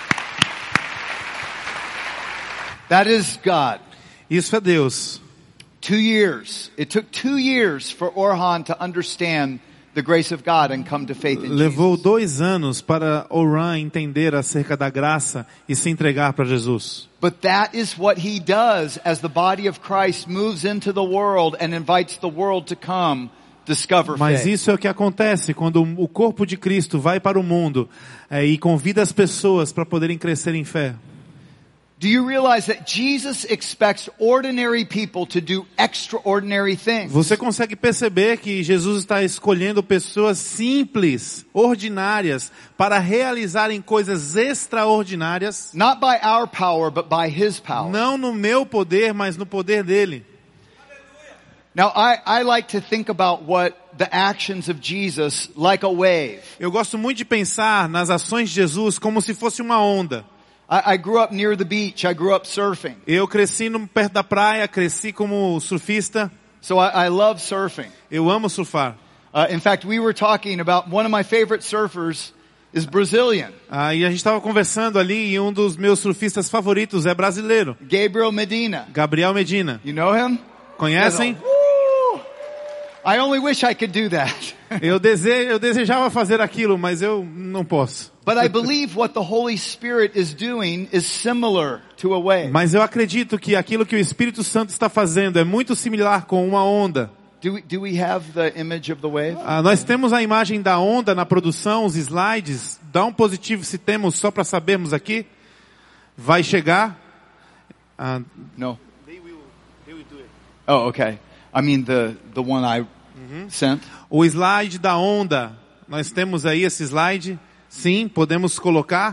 That is God. Isso é Deus. 2 years. It took 2 years for Orhan to understand the grace of God and come to faith in Levou Jesus. 2 anos para Orhan entender acerca da graça e se entregar para Jesus. But that is what he does as the body of Christ moves into the world and invites the world to come discover Mas faith. isso é o que acontece quando o corpo de Cristo vai para o mundo e convida as pessoas para poderem crescer em fé. Do you realize that Jesus expects ordinary people to do extraordinary things? Você consegue perceber que Jesus está escolhendo pessoas simples, ordinárias, para realizarem coisas extraordinárias? Not by our power, but by His power. Não no meu poder, mas no poder dele. Now, I like to think about what the actions of Jesus like a wave. Eu gosto muito de pensar nas ações de Jesus como se fosse uma onda. I grew up near the beach. I grew up surfing. Eu cresci perto da praia, cresci como surfista. So I love surfing. Eu amo surfar. In fact, we were talking about one of my favorite surfers is Brazilian. E a gente estava conversando ali e um dos meus surfistas favoritos é brasileiro. Gabriel Medina. Gabriel Medina. You know him? Conhecem? I only wish I could do that. Eu desejava fazer aquilo, mas eu não posso. But I believe what the Holy Spirit is doing is similar to a wave. Mas eu acredito que aquilo que o Espírito Santo está fazendo é muito similar com uma onda. Do we have the image of the wave? Nós temos a imagem da onda na produção, os slides. Dá um positivo se temos, só para sabermos aqui. Vai chegar. No. They will do it. Oh, okay. I mean the one I sent. O slide da onda. Nós temos aí esse slide. Sim, podemos colocar.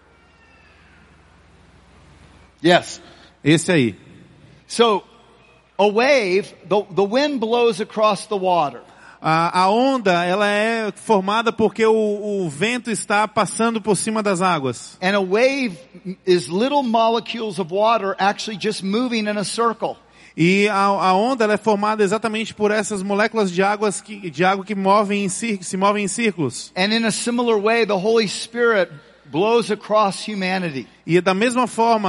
Yes. Esse aí. So, a wave, the wind blows across the water. A onda, ela é formada porque o vento está passando por cima das águas. And a wave is little molecules of water actually just moving in a circle. E a onda ela é formada exatamente por essas moléculas de água que se movem em círculos. And in a similar way, the Holy Spirit blows across humanity. E da mesma forma,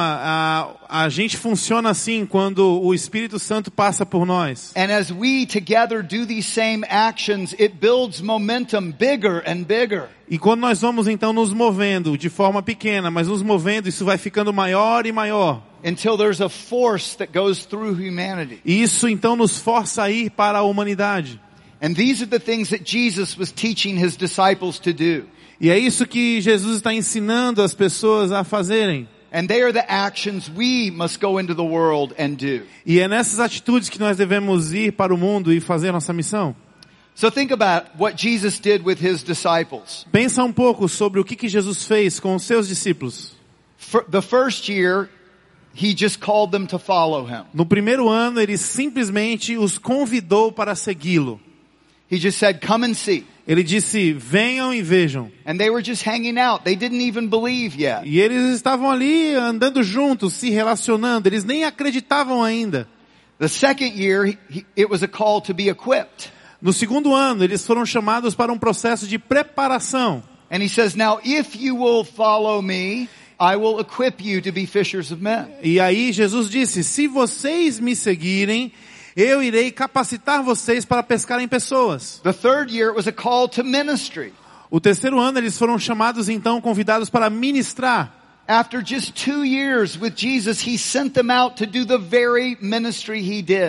a gente funciona assim quando o Espírito Santo passa por nós. And as we together do these same actions, it builds momentum bigger and bigger. E quando nós vamos então nos movendo de forma pequena, mas nos movendo, isso vai ficando maior e maior. Until there's a force that goes through humanity. E isso então nos força a ir para a humanidade. And these are the things that Jesus was teaching His disciples to do. E é isso que Jesus está ensinando as pessoas a fazerem. And they are the actions we must go into the world and do. E é nessas atitudes que nós devemos ir para o mundo e fazer nossa missão. So think about what Jesus did with His disciples. Pensa um pouco sobre o que Jesus fez com os seus discípulos. The first year, He just called them to follow Him. No primeiro ano, ele simplesmente os convidou para segui-lo. He just said, "Come and see." Ele disse, venham e vejam. And they were just hanging out. They didn't even believe yet. E eles estavam ali andando juntos, se relacionando. Eles nem acreditavam ainda. The second year, it was a call to be equipped. No segundo ano, eles foram chamados para um processo de preparação. And He says, "Now if you will follow me, I will equip you to be fishers of men." E aí Jesus disse, se vocês me seguirem, eu irei capacitar vocês para pescarem pessoas. The third year, it was a call to ministry. O terceiro ano, eles foram chamados, então, convidados para ministrar. After just 2 years with Jesus, He sent them out to do the very ministry He did.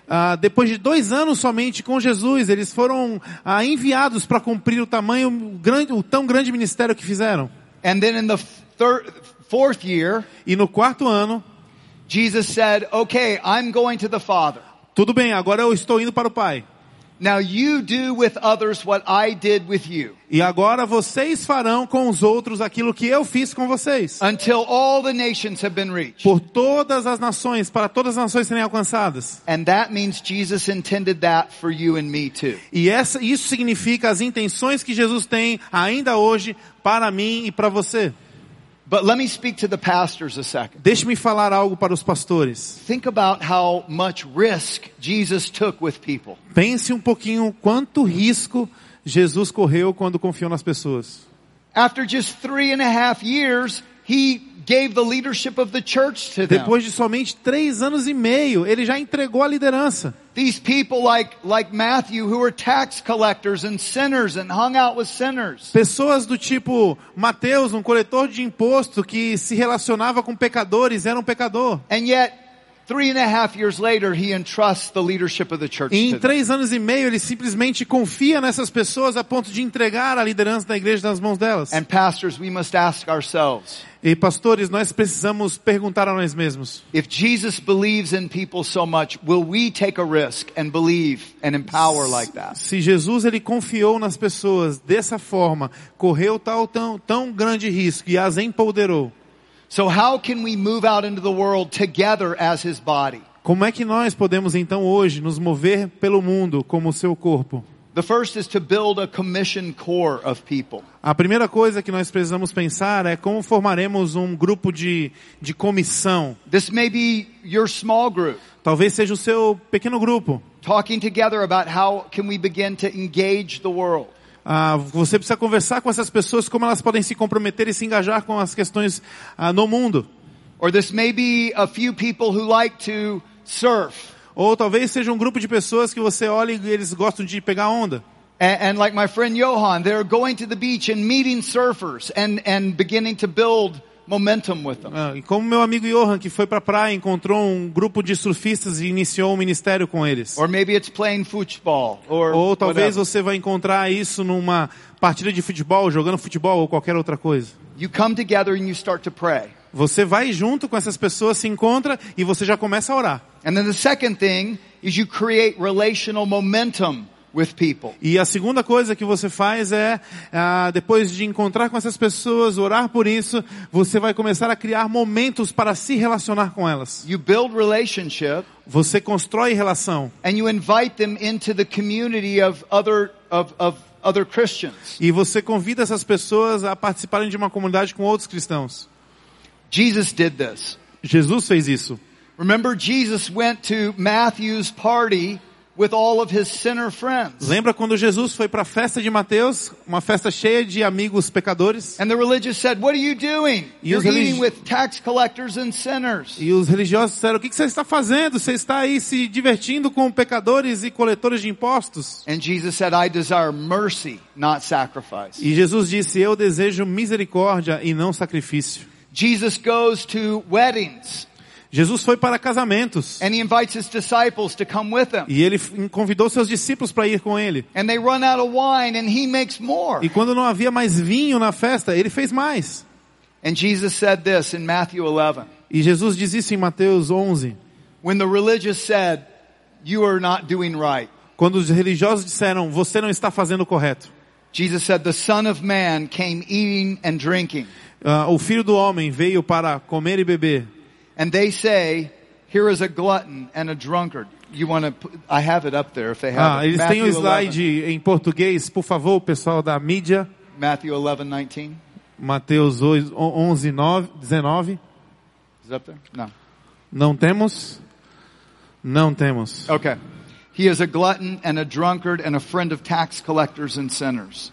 Depois de 2 anos somente com Jesus, eles foram enviados para cumprir o tão grande ministério que fizeram. And then in the fourth year, E no 4º ano, Jesus said, okay, I'm going to the Father. tudo bem, agora eu estou indo para o Pai. Now you do with others what I did with you. E agora vocês farão com os outros aquilo que eu fiz com vocês. Until all the nations have been reached. Por todas as nações, para todas as nações serem alcançadas. And that means Jesus intended that for you and me too. E isso significa as intenções que Jesus tem ainda hoje para mim e para você. But let me speak to the pastors a second. Deixe-me falar algo para os pastores. Think about how much risk Jesus took with people. Pense um pouquinho quanto risco Jesus correu quando confiou nas pessoas. After just 3.5 years, he gave the leadership of the church to them. Depois de somente 3 anos e meio, ele já entregou a liderança. These people like Matthew who were tax collectors and sinners and hung out with sinners. Pessoas do tipo Mateus, um coletor de imposto que se relacionava com pecadores, era um pecador. And yet, 3.5 years later, he entrusts the leadership of the church E em to them. 3 anos e meio, ele simplesmente confia nessas pessoas a ponto de entregar a liderança da igreja nas mãos delas. And pastors, we must ask ourselves, E pastores, nós precisamos perguntar a nós mesmos. if Jesus believes in people so much, will we take a risk and believe and empower like that? Se Jesus ele confiou nas pessoas dessa forma, correu tão grande risco e as empoderou. So how can we move out into the world together as his body? Como é que nós podemos então hoje nos mover pelo mundo como o seu corpo? The first is to build a commission core of people. A primeira coisa que nós precisamos pensar é como formaremos um grupo de comissão. This may be your small group, Talvez seja o seu pequeno grupo. talking together about how can we begin to engage the world. Você precisa conversar com essas pessoas como elas podem se comprometer e se engajar com as questões no mundo. Or this may be a few people who like to surf. Ou talvez seja um grupo de pessoas que você olha e eles gostam de pegar onda. And like my friend Johan, they're going to the beach and meeting surfers and beginning to build momentum with them. E como meu amigo Johan, que foi para a praia, encontrou um grupo de surfistas e iniciou um ministério com eles. Or maybe it's playing football or Ou talvez whatever. você vai encontrar isso numa partida de futebol, jogando futebol ou qualquer outra coisa. You come together and you start to pray. Você vai junto com essas pessoas, se encontra e você já começa a orar. And then the second thing is you create relational momentum with people. E a segunda coisa que você faz é, depois de encontrar com essas pessoas, orar por isso, você vai começar a criar momentos para se relacionar com elas. You build relationship Você constrói relação. and you invite them into the community of other Christians. E você convida essas pessoas a participarem de uma comunidade com outros cristãos. Jesus did this. Jesus fez isso. Remember, Jesus went to Matthew's party with all of his sinner friends. Lembra quando Jesus foi para a festa de Mateus, uma festa cheia de amigos pecadores? And the religious said, "What are you doing? E You're os eating with tax collectors and sinners." E os religiosos disseram, o que você está fazendo? Você está aí se divertindo com pecadores e coletores de impostos? And Jesus said, "I desire mercy, not sacrifice." E Jesus disse, eu desejo misericórdia e não sacrifício. Jesus goes to weddings Jesus foi para casamentos. and he invites his disciples to come with him. E ele convidou seus discípulos para ir com ele. And they run out of wine and he makes more. E quando não havia mais vinho na festa, ele fez mais. And Jesus said this in Matthew 11. E Jesus diz isso em Mateus 11. When the religious said, "You are not doing right," Quando os religiosos disseram, você não está fazendo o correto. Jesus said, "The Son of Man came eating and drinking." O Filho do Homem veio para comer e beber. And they say, "Here is a glutton and a drunkard." You want to? I have it up there if they have it. Eles têm um Matthew 11. slide em português, por favor, pessoal da mídia. Matthew 11:19. Mateus 11, 19. Is it up there? No. Não temos? Não temos. Okay. He is a glutton and a drunkard and a friend of tax collectors and sinners.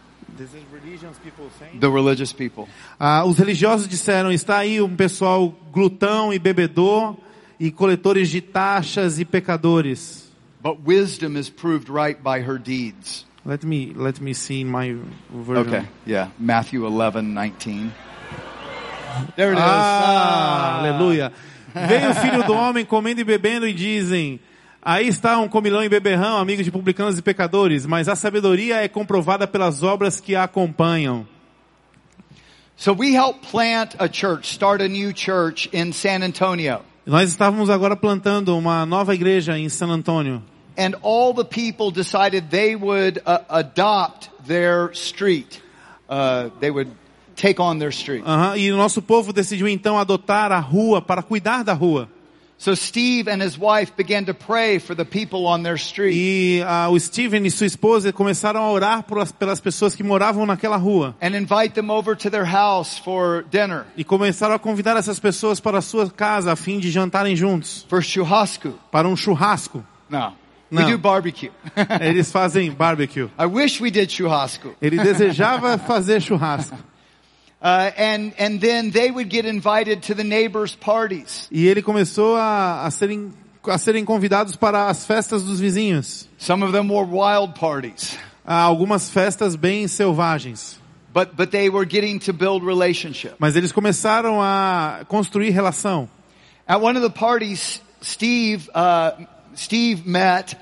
The religious people. Os religiosos disseram, está aí um pessoal glutão e bebedor e coletores de taxas e pecadores. But wisdom is proved right by her deeds. Let me see in my version. Okay. Yeah. Matthew 11:19. There it is. Aleluia. Veio o Filho do Homem comendo e bebendo e dizem, Aí está um comilão e beberrão, amigo de publicanos e pecadores, mas a sabedoria é comprovada pelas obras que a acompanham. So we helped plant a church, start a new church in San Antonio. Nós estávamos agora plantando uma nova igreja em San Antônio. And all the people decided they would adopt their street. They would take on their street. E o nosso povo decidiu então adotar a rua para cuidar da rua. So Steve and his wife began to pray for the people on their street. E o Steven e sua esposa começaram a orar pelas pessoas que moravam naquela rua. And invite them over to their house for dinner. E começaram a convidar essas pessoas para a sua casa a fim de jantarem juntos. For churrasco. Para um churrasco. No. Não. We do barbecue. Eles fazem barbecue. I wish we did churrasco. Ele desejava fazer churrasco. And then they would get invited to the neighbors' parties. E ele começou a serem convidados para as festas dos vizinhos. Some of them were wild parties. Algumas festas bem selvagens. But they were getting to build relationship. Mas eles começaram a construir relação. At one of the parties, Steve met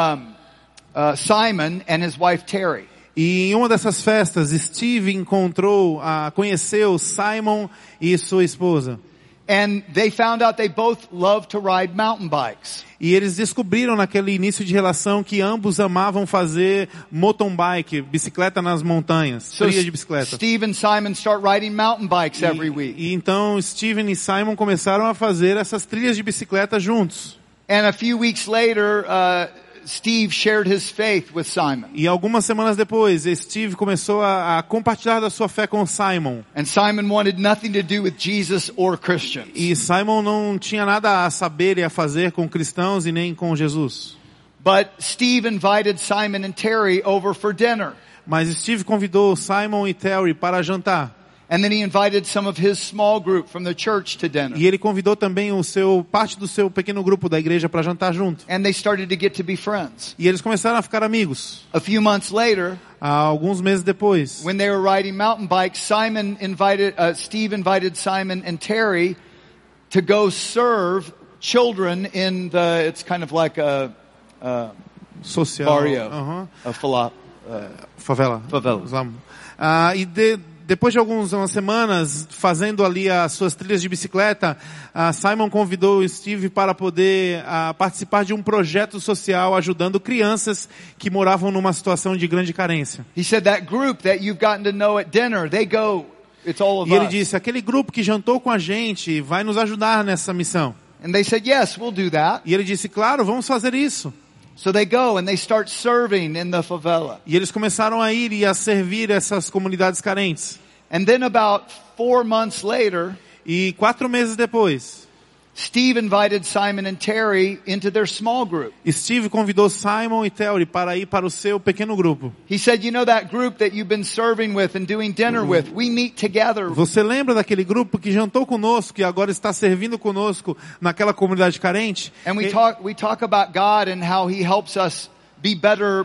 Simon and his wife Terry. E em uma dessas festas, Steve conheceu Simon e sua esposa. And they found out they both love to ride mountain bikes. E eles descobriram naquele início de relação que ambos amavam fazer mountain bike, bicicleta nas montanhas, trilha de bicicleta. Steve and Simon start riding mountain bikes every week. E então Steven e Simon começaram a fazer essas trilhas de bicicleta juntos. And a few weeks later, Steve shared his faith with Simon. E algumas semanas depois, Steve começou a compartilhar da sua fé com Simon. And Simon wanted nothing to do with Jesus or Christians. E Simon não tinha nada a saber e a fazer com cristãos e nem com Jesus. But Steve invited Simon and Terry over for dinner. Mas Steve convidou Simon e Terry para jantar. And then he invited some of his small group from the church to dinner. E ele convidou também parte do seu pequeno grupo da igreja para jantar junto. And they started to get to be friends. E eles começaram a ficar amigos. A few months later, alguns meses depois, when they were riding mountain bikes, Steve invited Simon and Terry to go serve children in it's kind of like a social barrio, a favela. Depois de algumas semanas fazendo ali as suas trilhas de bicicleta, Simon convidou o Steve para poder participar de um projeto social ajudando crianças que moravam numa situação de grande carência. He said that group that you've gotten to know at dinner, they go, it's all of us. E ele us. disse, aquele grupo que jantou com a gente vai nos ajudar nessa missão. And they said, yes, we'll do that. E ele disse, claro, vamos fazer isso. So they go and they start serving in the favela. E eles começaram a ir e a servir essas comunidades carentes. And then about 4 months later, e 4 meses depois, Steve invited Simon and Terry into their small group. Steve convidou Simon e Terry para ir para o seu pequeno grupo. He said, you know that group that you've been serving with and doing dinner with, we meet together. Você lembra daquele grupo que jantou conosco e agora está servindo conosco naquela comunidade carente? And we talk about God and how he helps us be better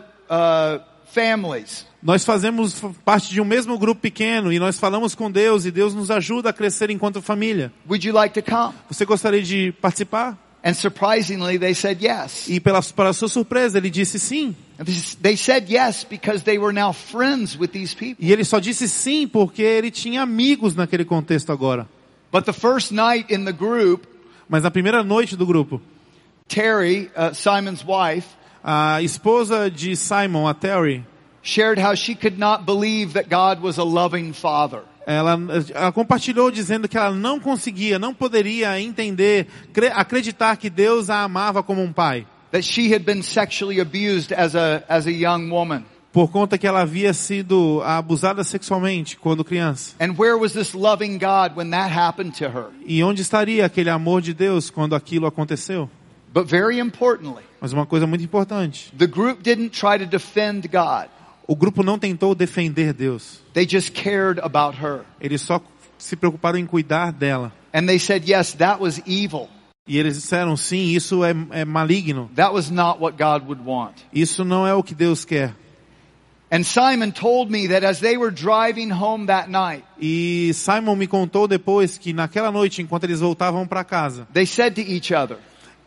families. Nós fazemos parte de um mesmo grupo pequeno e nós falamos com Deus e Deus nos ajuda a crescer enquanto família. Would you like to come? Você gostaria de participar? And surprisingly, they said yes. E para sua surpresa, ele disse sim. They said yes because they were now friends with these people. E ele só disse sim porque ele tinha amigos naquele contexto agora. But the first night in the group, mas na primeira noite do grupo, Terry, Simon's wife, a esposa de Simon, a Terry, shared how she could not believe that God was a loving father. Ela compartilhou dizendo que ela não poderia entender, acreditar que Deus a amava como um pai. That she had been sexually abused as a young woman. Por conta que ela havia sido abusada sexualmente quando criança. And where was this loving God when that happened to her? E onde estaria aquele amor de Deus quando aquilo aconteceu? But very importantly, mas uma coisa muito importante. The group didn't try to defend God. O grupo não tentou defender Deus. They just cared about her. Eles só se preocuparam em cuidar dela. And they said, yes, that was evil. E eles disseram, sim, isso é maligno. That was not what God would want. Isso não é o que Deus quer. And Simon told me that as they were driving home that night, e Simon me contou depois que naquela noite, enquanto eles voltavam para casa, they said to each other,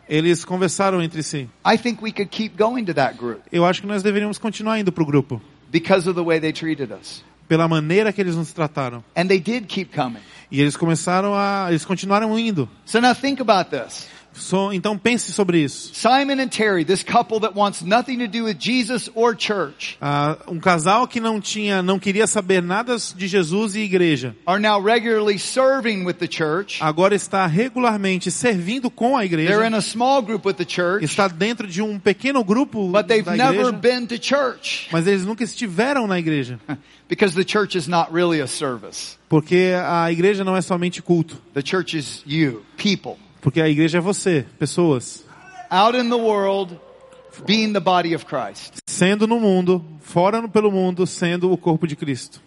Eles conversaram entre si. I think we could keep going to that group Eu acho que nós deveríamos continuar indo pro grupo. because of the way they treated us. Pela maneira que eles nos trataram. And they did keep coming. E eles continuaram indo. So now think about this. Então pense sobre isso. Simon and Terry, this couple that wants nothing to do with Jesus or church, Um casal que não queria saber nada de Jesus e igreja. are now regularly serving with the church. Agora está regularmente servindo com a They're igreja. in a small group with the church, Está dentro de um pequeno grupo but they've da never igreja. been to church Mas eles nunca estiveram na igreja. because the church is not really a service. Porque a igreja não é somente culto. The church is you, people, Porque a igreja é você, pessoas. out in the world, being the body of Christ. Sendo no mundo, pelo mundo, sendo o corpo de Cristo.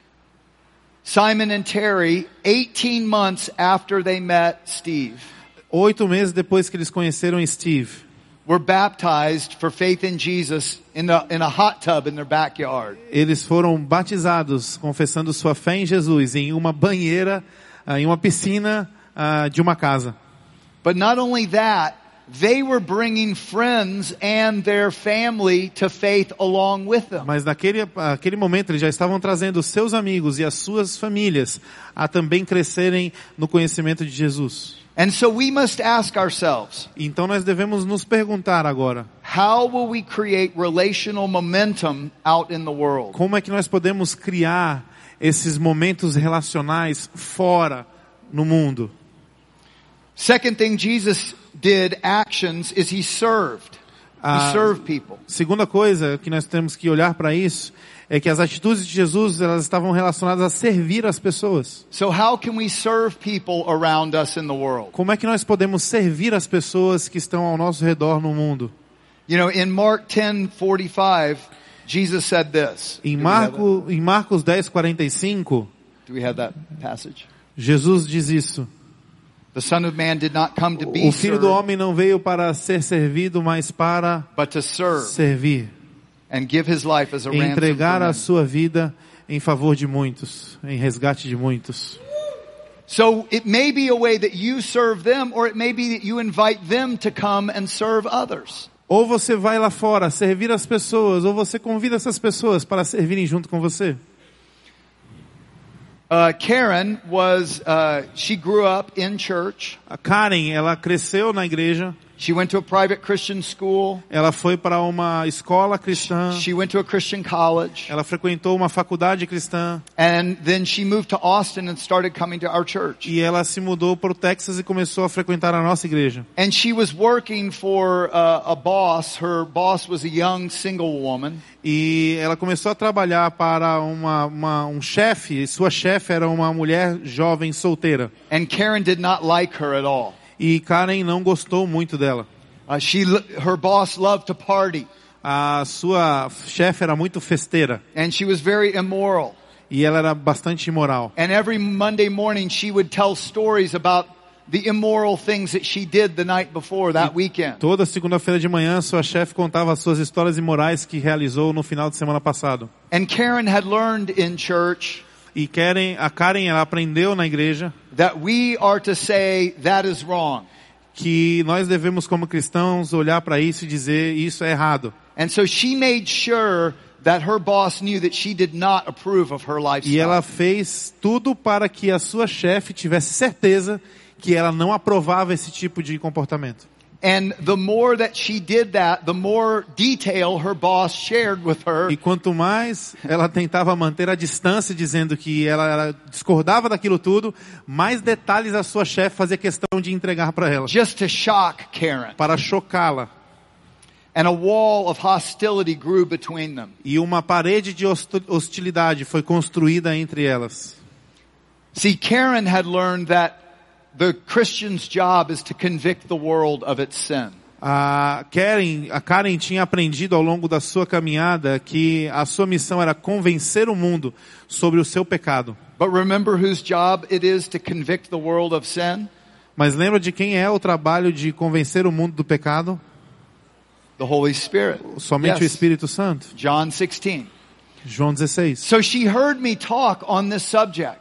Simon and Terry, 18 months after they met Steve, 8 meses depois que eles conheceram Steve, were baptized for faith in Jesus in a hot tub in their backyard. eles foram batizados, confessando sua fé em Jesus, em uma banheira, em uma piscina de uma casa. But not only that, they were bringing friends and their family to faith along with them. Mas naquele momento eles já estavam trazendo os seus amigos e as suas famílias a também crescerem no conhecimento de Jesus. And so we must ask ourselves, Então nós devemos nos perguntar agora, how will we create relational momentum out in the world? como é que nós podemos criar esses momentos relacionais fora no mundo? Second thing Jesus did, actions, is he served. He served people. Segunda coisa que nós temos que olhar para isso é que as atitudes de Jesus, elas estavam relacionadas a servir as pessoas. So how can we serve people around us in the world? Como é que nós podemos servir as pessoas que estão ao nosso redor no mundo? You know, in Mark 10:45, Jesus said this. Em Marcos 10:45, Do we have that passage? Jesus diz isso. The Son of Man did not come to be O Filho do served, Homem não veio para ser servido, mas para but to serve servir. and give his life as a ransom Entregar for a many. sua vida em favor de muitos, em resgate de muitos. So it may be a way that you serve them, or it may be that you invite them to come and serve others. Ou você vai lá fora servir as pessoas, ou você convida essas pessoas para servirem junto com você. Karen she grew up in church. A Karen, ela cresceu na igreja, She went to a private Christian school. ela foi para uma escola cristã, She went to a Christian college. ela frequentou uma faculdade cristã, And then she moved to Austin and started coming to our church. e ela se mudou para o Texas e começou a frequentar a nossa igreja. And she was working for a boss. Her boss was a young single woman. E ela começou a trabalhar para um chefe, e sua chefe era uma mulher jovem solteira. And Karen did not like her at all. E Karen não gostou muito dela. Her boss loved to party. A sua chefe era muito festeira. And she was very immoral. E ela era bastante imoral. And every Monday morning she would tell stories about the immoral things that she did the night before that weekend. Toda segunda-feira de manhã, sua chefe contava as suas histórias imorais que realizou no final de semana passado. And Karen had learned in church E a Karen, ela aprendeu na igreja that we are to say that is wrong. que nós devemos, como cristãos, olhar para isso e dizer isso é errado. And so she made sure that her boss knew that she did not approve of her lifestyle. E ela fez tudo para que a sua chefe tivesse certeza que ela não aprovava esse tipo de comportamento. And the more that she did that, the more detail her boss shared with her. E quanto mais ela tentava manter a distância, dizendo que ela discordava daquilo tudo, mais detalhes a sua chefe fazia questão de entregar para ela, Just to shock Karen. para chocá-la. And a wall of hostility grew between them. E uma parede de hostilidade foi construída entre elas. See, Karen had learned that the Christian's job is to convict the world of its sin. A Karen tinha aprendido ao longo da sua caminhada que a sua missão era convencer o mundo sobre o seu pecado. But remember whose job it is to convict the world of sin? Mas lembra de quem é o trabalho de convencer o mundo do pecado? The Holy Spirit. Somente o Yes. Espírito Santo. John 16. João 16. So she heard me talk on this subject.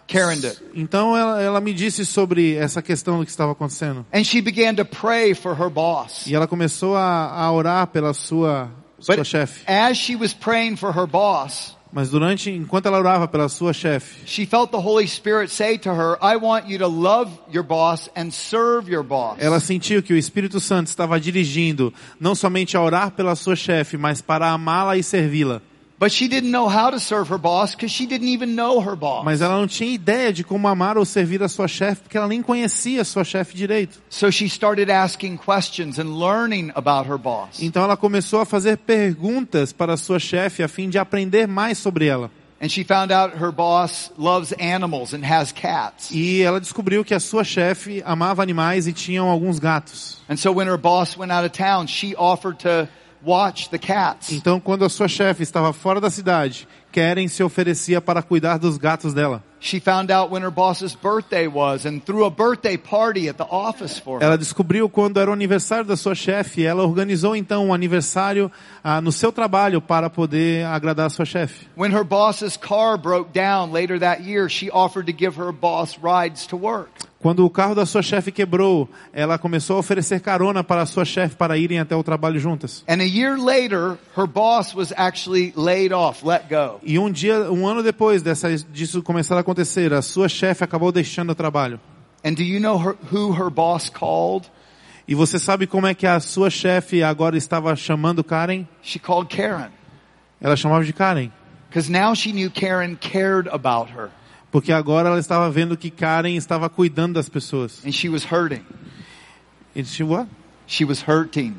Karen did. Então ela me disse sobre essa questão do que estava acontecendo. And she began to pray for her boss. E ela começou a orar pela sua chefe. As she was praying for her boss, Mas enquanto ela orava pela sua chefe, she felt the Holy Spirit say to her, I want you to love your boss and serve your boss. ela sentiu que o Espírito Santo estava dirigindo não somente a orar pela sua chefe, mas para amá-la e servi-la. But she didn't know how to serve her boss because she didn't even know her boss. Mas ela não tinha ideia de como amar ou servir a sua chefe, porque ela nem conhecia a sua chefe direito. So she started asking questions and learning about her boss. Então ela começou a fazer perguntas para a sua chefe a fim de aprender mais sobre ela. And she found out her boss loves animals and has cats. E ela descobriu que a sua chefe amava animais e tinha alguns gatos. And so when her boss went out of town, she offered to watch the cats. Então, quando a sua chefe estava fora da cidade, Karen se oferecia para cuidar dos gatos dela. She found out when her boss's birthday was and threw a birthday party at the office for her. Ela descobriu quando era o aniversário da sua chefe. Ela organizou então um aniversário no seu trabalho para poder agradar a sua chefe. When her boss's car broke down later that year, she offered to give her boss rides to work. Quando o carro da sua chefe quebrou, ela começou a oferecer carona para a sua chefe para irem até o trabalho juntas. And a year later, her boss was actually laid off, let go. E um ano depois disso começar a acontecer, a sua chefe acabou deixando o trabalho. And do you know who her boss called? E você sabe como é que a sua chefe agora estava chamando Karen? She called Karen. Ela chamava de Karen. Because now she knew Karen cared about her. Porque agora ela estava vendo que Karen estava cuidando das pessoas. And she was hurting. E she what? She was hurting.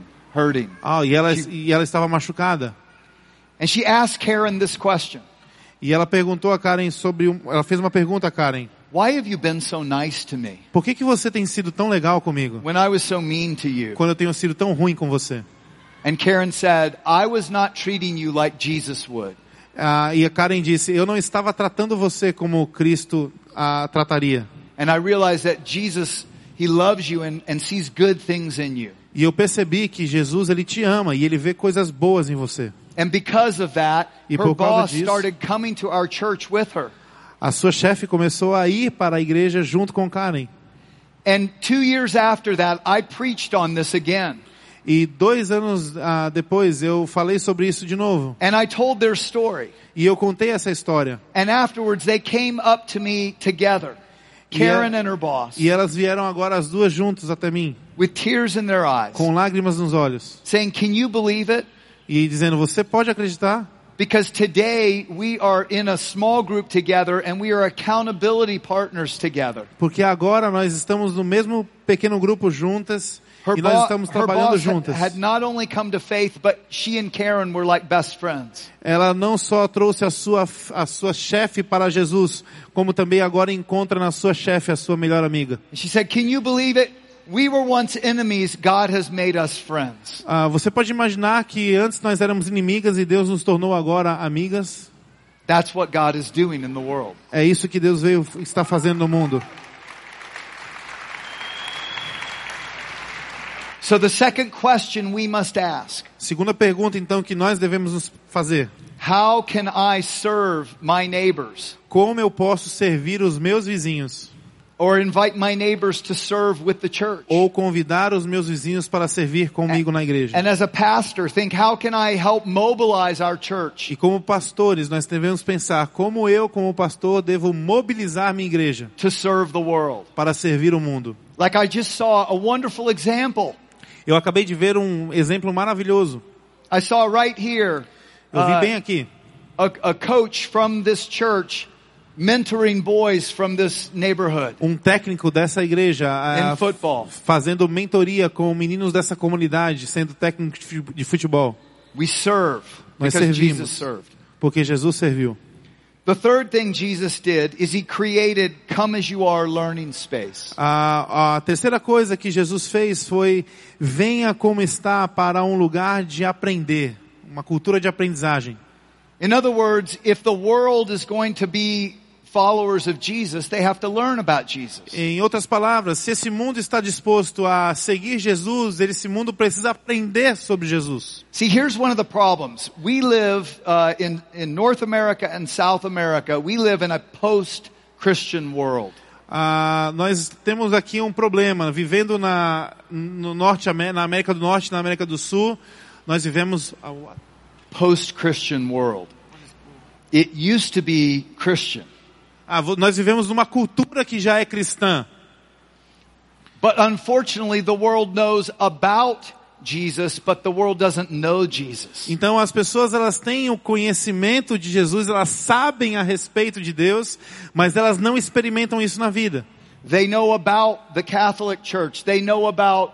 E ela estava machucada. And she asked Karen this question. E ela perguntou a Karen ela fez uma pergunta a Karen. Why have you been so nice to me? Por que você tem sido tão legal comigo? When I was so mean to you. Quando eu tenho sido tão ruim com você? And Karen said, I was not treating you like Jesus would. E a Karen disse, eu não estava tratando você como Cristo trataria. And I realized that Jesus, He loves you and sees good things in you. E eu percebi que Jesus, Ele te ama e Ele vê coisas boas em você. And because of that, her boss started coming to our church with her. A sua chefe começou a ir para a igreja junto com Karen. And 2 years after that, I preached on this again. E 2 anos depois eu falei sobre isso de novo. And I told their story. E eu contei essa história. And afterwards they came up to me together, Karen and her boss. E elas vieram agora as duas juntas até mim. With tears in their eyes. Com lágrimas nos olhos. Saying, "Can you believe it?" E dizendo, você pode acreditar? Because today we are in a small group together and we are accountability partners together. Porque agora nós estamos no mesmo pequeno grupo juntas. E nós estamos trabalhando juntas. Had not only come to faith, but she and Karen were like best friends. Ela não só trouxe a sua chefe para Jesus, como também agora encontra na sua chefe a sua melhor amiga. She said, "Can you believe it? We were once enemies, God has made us friends." Você pode imaginar que antes nós éramos inimigas e Deus nos tornou agora amigas? That's what God is doing in the world. É isso que Deus está fazendo no mundo. So the second question we must ask. Segunda pergunta então que nós devemos nos fazer. How can I serve my neighbors? Como eu posso servir os meus vizinhos? Or invite my neighbors to serve with the church? Ou convidar os meus vizinhos para servir comigo na igreja? And as a pastor, think, how can I help mobilize our church? E como pastores, nós devemos pensar como eu, como pastor, devo mobilizar minha igreja to serve the world. Para servir o mundo. Like I just saw a wonderful example. Eu acabei de ver um exemplo maravilhoso. I saw right here. Eu vi bem aqui. A coach from this church mentoring boys from this neighborhood. Um técnico dessa igreja in football. Fazendo mentoria com meninos dessa comunidade, sendo técnico de futebol. We serve Nós because servimos Jesus served. Porque Jesus serviu. The third thing Jesus did is He created Come As You Are learning space. A terceira coisa que Jesus fez foi venha como está para um lugar de aprender, uma cultura de aprendizagem. In other words, if the world is going to be followers of Jesus, they have to learn about Jesus. Em outras palavras, se esse mundo está disposto a seguir Jesus, esse mundo precisa aprender sobre Jesus. See, here's one of the problems. We live in North America and South America. We live in a Christian world. Nós temos aqui um problema. Vivendo na América do Norte, na América do Sul, nós vivemos Post-Christian world. It used to be Christian. Nós vivemos numa cultura que já é cristã. But unfortunately, the world knows about Jesus, but the world doesn't know Jesus. Então as pessoas, elas têm o conhecimento de Jesus, elas sabem a respeito de Deus, mas elas não experimentam isso na vida. They know about the Catholic Church. They know about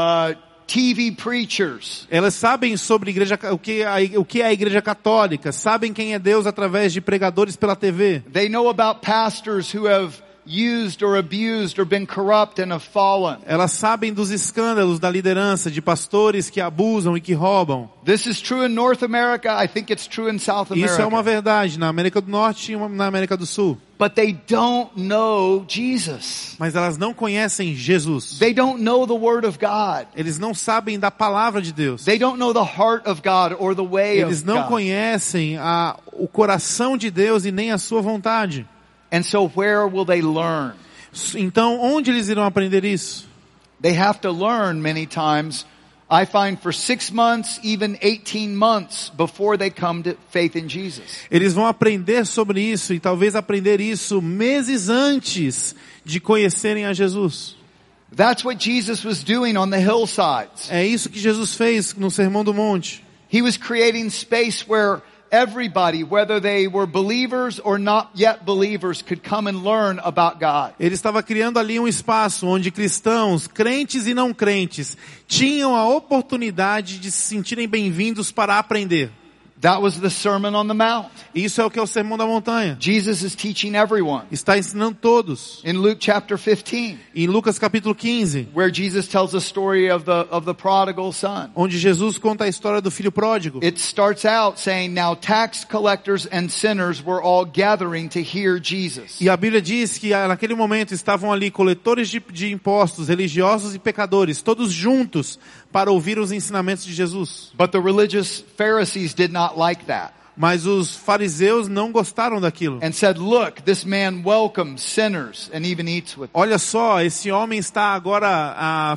TV preachers. Elas sabem sobre o que é a igreja católica, sabem quem é Deus através de pregadores pela TV. They know about pastors who have used or abused or been corrupt and have fallen. Elas sabem dos escândalos da liderança, de pastores que abusam e que roubam. This is true in North America. I think it's true in South America. Isso é uma verdade na América do Norte e na América do Sul. But they don't know Jesus. Mas elas não conhecem Jesus. They don't know the Word of God. Eles não sabem da palavra de Deus. They don't know the heart of God or the way Eles of não God. conhecem o coração de Deus e nem a sua vontade. And so where will they learn? Então, onde eles irão aprender isso? They have to learn many times, I find, for 6 months, even 18 months before they come to faith in Jesus. Eles vão aprender sobre isso e talvez aprender isso meses antes de conhecerem a Jesus. That's what Jesus was doing on the hillsides. É isso que Jesus fez no Sermão do Monte. He was creating space where everybody, whether they were believers or not yet believers, could come and learn about God. Ele estava criando ali um espaço onde cristãos, crentes e não crentes, tinham a oportunidade de se sentirem bem-vindos para aprender. That was the Sermon on the Mount. Isso é o que é o Sermão da Montanha. Jesus is teaching everyone. Está ensinando todos. In Luke chapter 15, Em Lucas capítulo 15, where Jesus tells the story of the prodigal son. onde Jesus conta a história do filho pródigo. It starts out saying, now tax collectors and sinners were all gathering to hear Jesus. E a Bíblia diz que naquele momento estavam ali coletores de impostos, religiosos e pecadores, todos juntos para ouvir os ensinamentos de Jesus. But the religious Pharisees did not like that. Mas os fariseus não gostaram daquilo. And said, look, this man welcomes sinners and even eats with them. Olha só, esse homem está agora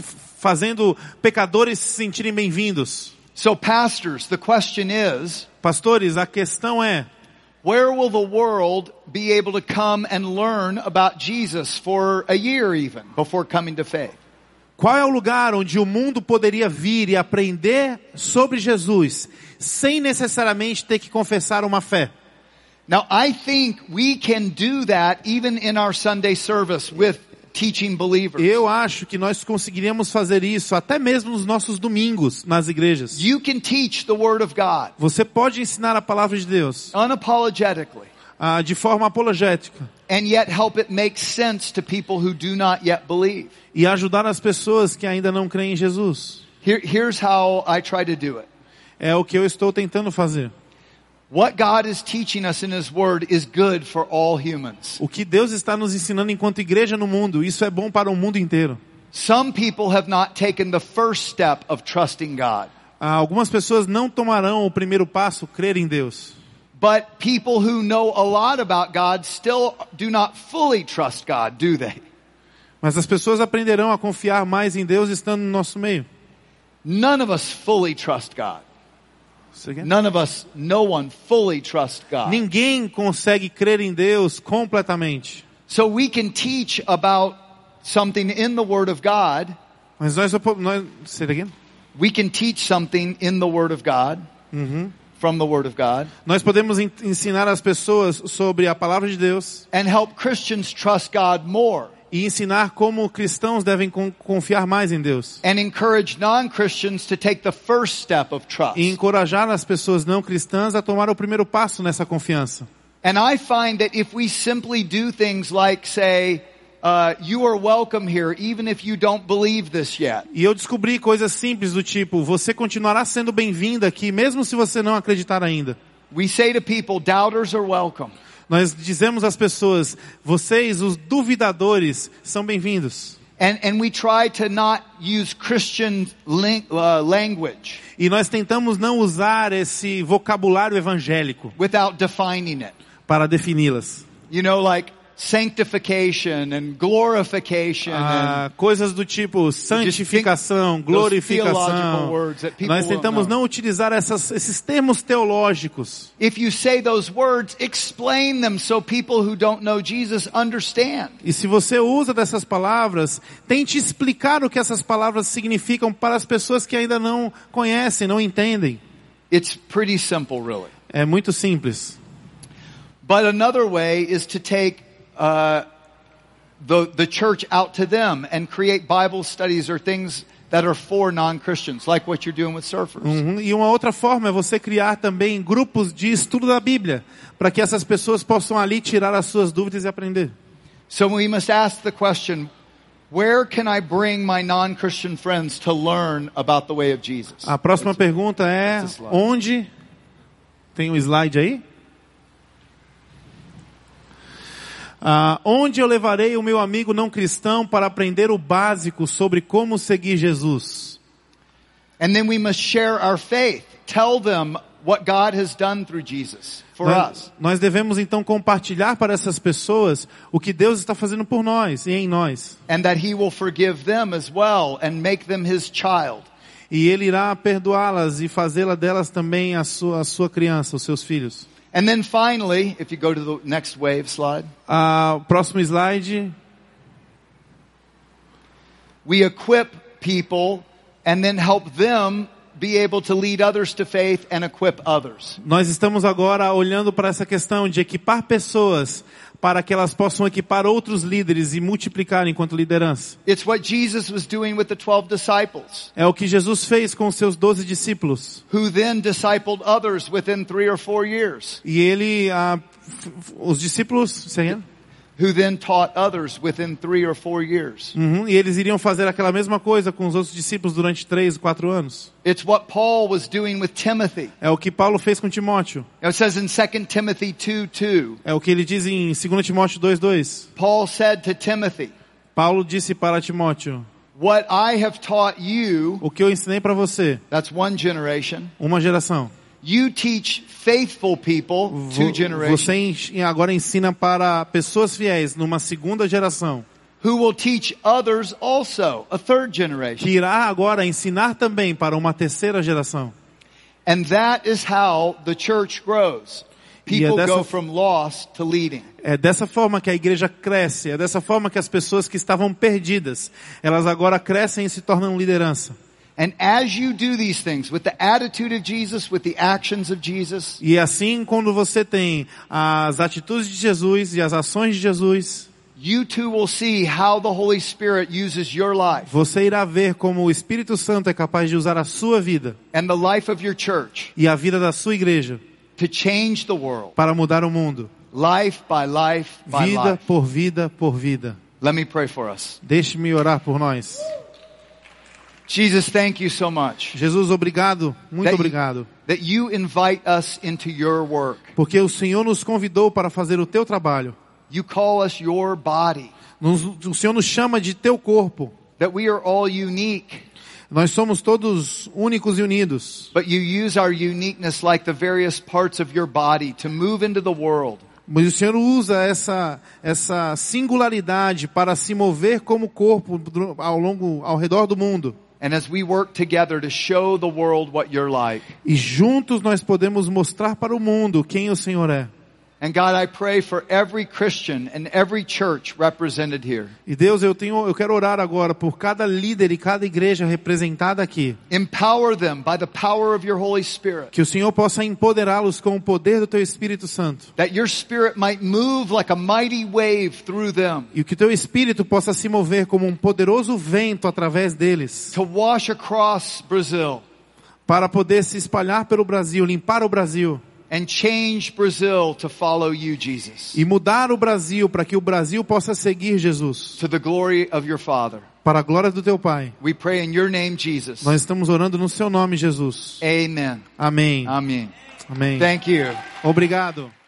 fazendo pecadores se sentirem bem-vindos. So pastors, the question is, Pastores, a questão é, where will the world be able to come and learn about Jesus for a year even before coming to faith? qual é o lugar onde o mundo poderia vir e aprender sobre Jesus sem necessariamente ter que confessar uma fé? Now, I think we can do that even in our Sunday service with teaching believers. Eu acho que nós conseguiríamos fazer isso até mesmo nos nossos domingos nas igrejas. You can teach the Word of God Você pode ensinar a palavra de Deus unapologetically de forma apologética and yet help it make sense to people who do not yet believe. e ajudar as pessoas que ainda não creem em Jesus. Here's how I try to do it. É o que eu estou tentando fazer. What God is teaching us in His Word is good for all humans. O que Deus está nos ensinando enquanto igreja no mundo, isso é bom para o mundo inteiro. Some people have not taken the first step of trusting God. Algumas pessoas não tomarão o primeiro passo, crer em Deus. But people who know a lot about God still do not fully trust God, do they? Mas as pessoas aprenderão a confiar mais em Deus estando no nosso meio. None of us fully trust God. Você quer? None of us, no one fully trusts God. Ninguém consegue crer em Deus completamente. So we can teach about something in the Word of God. Mas say it again? We can teach something in the Word of God, from the Word of God, Nós podemos ensinar as pessoas sobre a palavra de Deus and help Christians trust God more, e ensinar como cristãos devem confiar mais em Deus. and encourage non-Christians to take the first step of trust. E encorajar as pessoas não cristãs a tomar o primeiro passo nessa confiança. And I find that if we simply do things like say, you are welcome here even if you don't believe this yet. E eu descobri coisas simples do tipo, você continuará sendo bem-vinda aqui, mesmo se você não acreditar ainda. We say to people, doubters are welcome. Nós dizemos às pessoas, vocês, os duvidadores, são bem-vindos. And we try to not use Christian language E nós tentamos não usar esse vocabulário evangélico without defining it. para defini-las. You know, like, sanctification and glorification and coisas do tipo santificação, glorificação. Nós tentamos não utilizar esses termos teológicos. if you say those words, explain them so people who don't know Jesus understand. E se você usa dessas palavras, tente explicar o que essas palavras significam para as pessoas que ainda não conhecem, não entendem. It's pretty simple, really. É muito simples. But another way is to take the church out to them and create Bible studies or things that are for non-Christians, like what you're doing with surfers. E uma outra forma é você criar também grupos de estudo da Bíblia, para que essas pessoas possam ali tirar as suas dúvidas e aprender. So we must ask the question, where can I bring my non-Christian friends to learn about the way of Jesus? A próxima pergunta é, Esse slide. onde? Tem um slide aí? Onde eu levarei o meu amigo não cristão para aprender o básico sobre como seguir Jesus? And then we must share our faith. Tell them what God has done through Jesus for us. Nós devemos então compartilhar para essas pessoas o que Deus está fazendo por nós e em nós. And that He will forgive them as well and make them His child. E Ele irá perdoá-las e fazê-la delas também a sua criança, os seus filhos. And then finally, if you go to the next wave slide, Próximo slide. we equip people and then help them be able to lead others to faith and equip others. Nós estamos agora olhando para essa questão de equipar pessoas para que elas possam equipar outros líderes e multiplicar enquanto liderança. It's what Jesus was doing with the 12 disciples, É o que Jesus fez com os seus 12 discípulos. who then discipled others within 3 or 4 years, E ele, os discípulos, who then taught others within 3 or 4 years. e eles iriam fazer aquela mesma coisa com os outros discípulos durante 3, 4 anos. It's what Paul was doing with Timothy. É o que Paulo fez com Timóteo. It says in 2 Timothy 2:2, É o que ele diz em 2 Timóteo 2:2. Paul said to Timothy, Paulo disse para Timóteo, what I have taught you, o que eu ensinei para você, that's one generation, uma geração. you teach faithful people, 2 generations, Você agora ensina para pessoas fiéis numa segunda geração, who will teach others also, a 3rd generation. que irá agora ensinar também para uma terceira geração. And that is how the church grows. People dessa- go from lost to leading. É dessa forma que a igreja cresce, é dessa forma que as pessoas que estavam perdidas, elas agora crescem e se tornam liderança. And as you do these things with the attitude of Jesus, with the actions of Jesus, E assim, quando você tem as atitudes de Jesus e as ações de Jesus, you too will see how the Holy Spirit uses your life você irá ver como o Espírito Santo é capaz de usar a sua vida and the life of your church e a vida da sua igreja to change the world, para mudar o mundo. life by life by Vida life. por vida por vida. Let me pray for us. Deixe-me orar por nós. Jesus, thank you so much Jesus, obrigado, muito obrigado. that you invite us into your work. Porque o Senhor nos convidou para fazer o teu trabalho. You call us your body, O Senhor nos chama de teu corpo. that we are all unique. Nós somos todos únicos e unidos. But you use our uniqueness like the various parts of your body to move into the world. Mas o Senhor usa essa singularidade para se mover como corpo ao redor do mundo. And as we work together to show the world what you're like. E juntos nós podemos mostrar para o mundo quem o Senhor é. And God, I pray for every Christian and every church represented here. E Deus, eu quero orar agora por cada líder e cada igreja representada aqui. Empower them by the power of your Holy Spirit. Que o Senhor possa empoderá-los com o poder do teu Espírito Santo. That your Spirit might move like a mighty wave through them. E que o teu Espírito possa se mover como um poderoso vento através deles. To wash across Brazil. Para poder se espalhar pelo Brasil, limpar o Brasil. And change Brazil to follow you, Jesus. E mudar o Brasil para que o Brasil possa seguir Jesus. To the glory of your Father. Para a glória do teu Pai. We pray in your name, Jesus. Nós estamos orando no seu nome, Jesus. Amen. Amém. Amen. Amém. Thank you. Obrigado.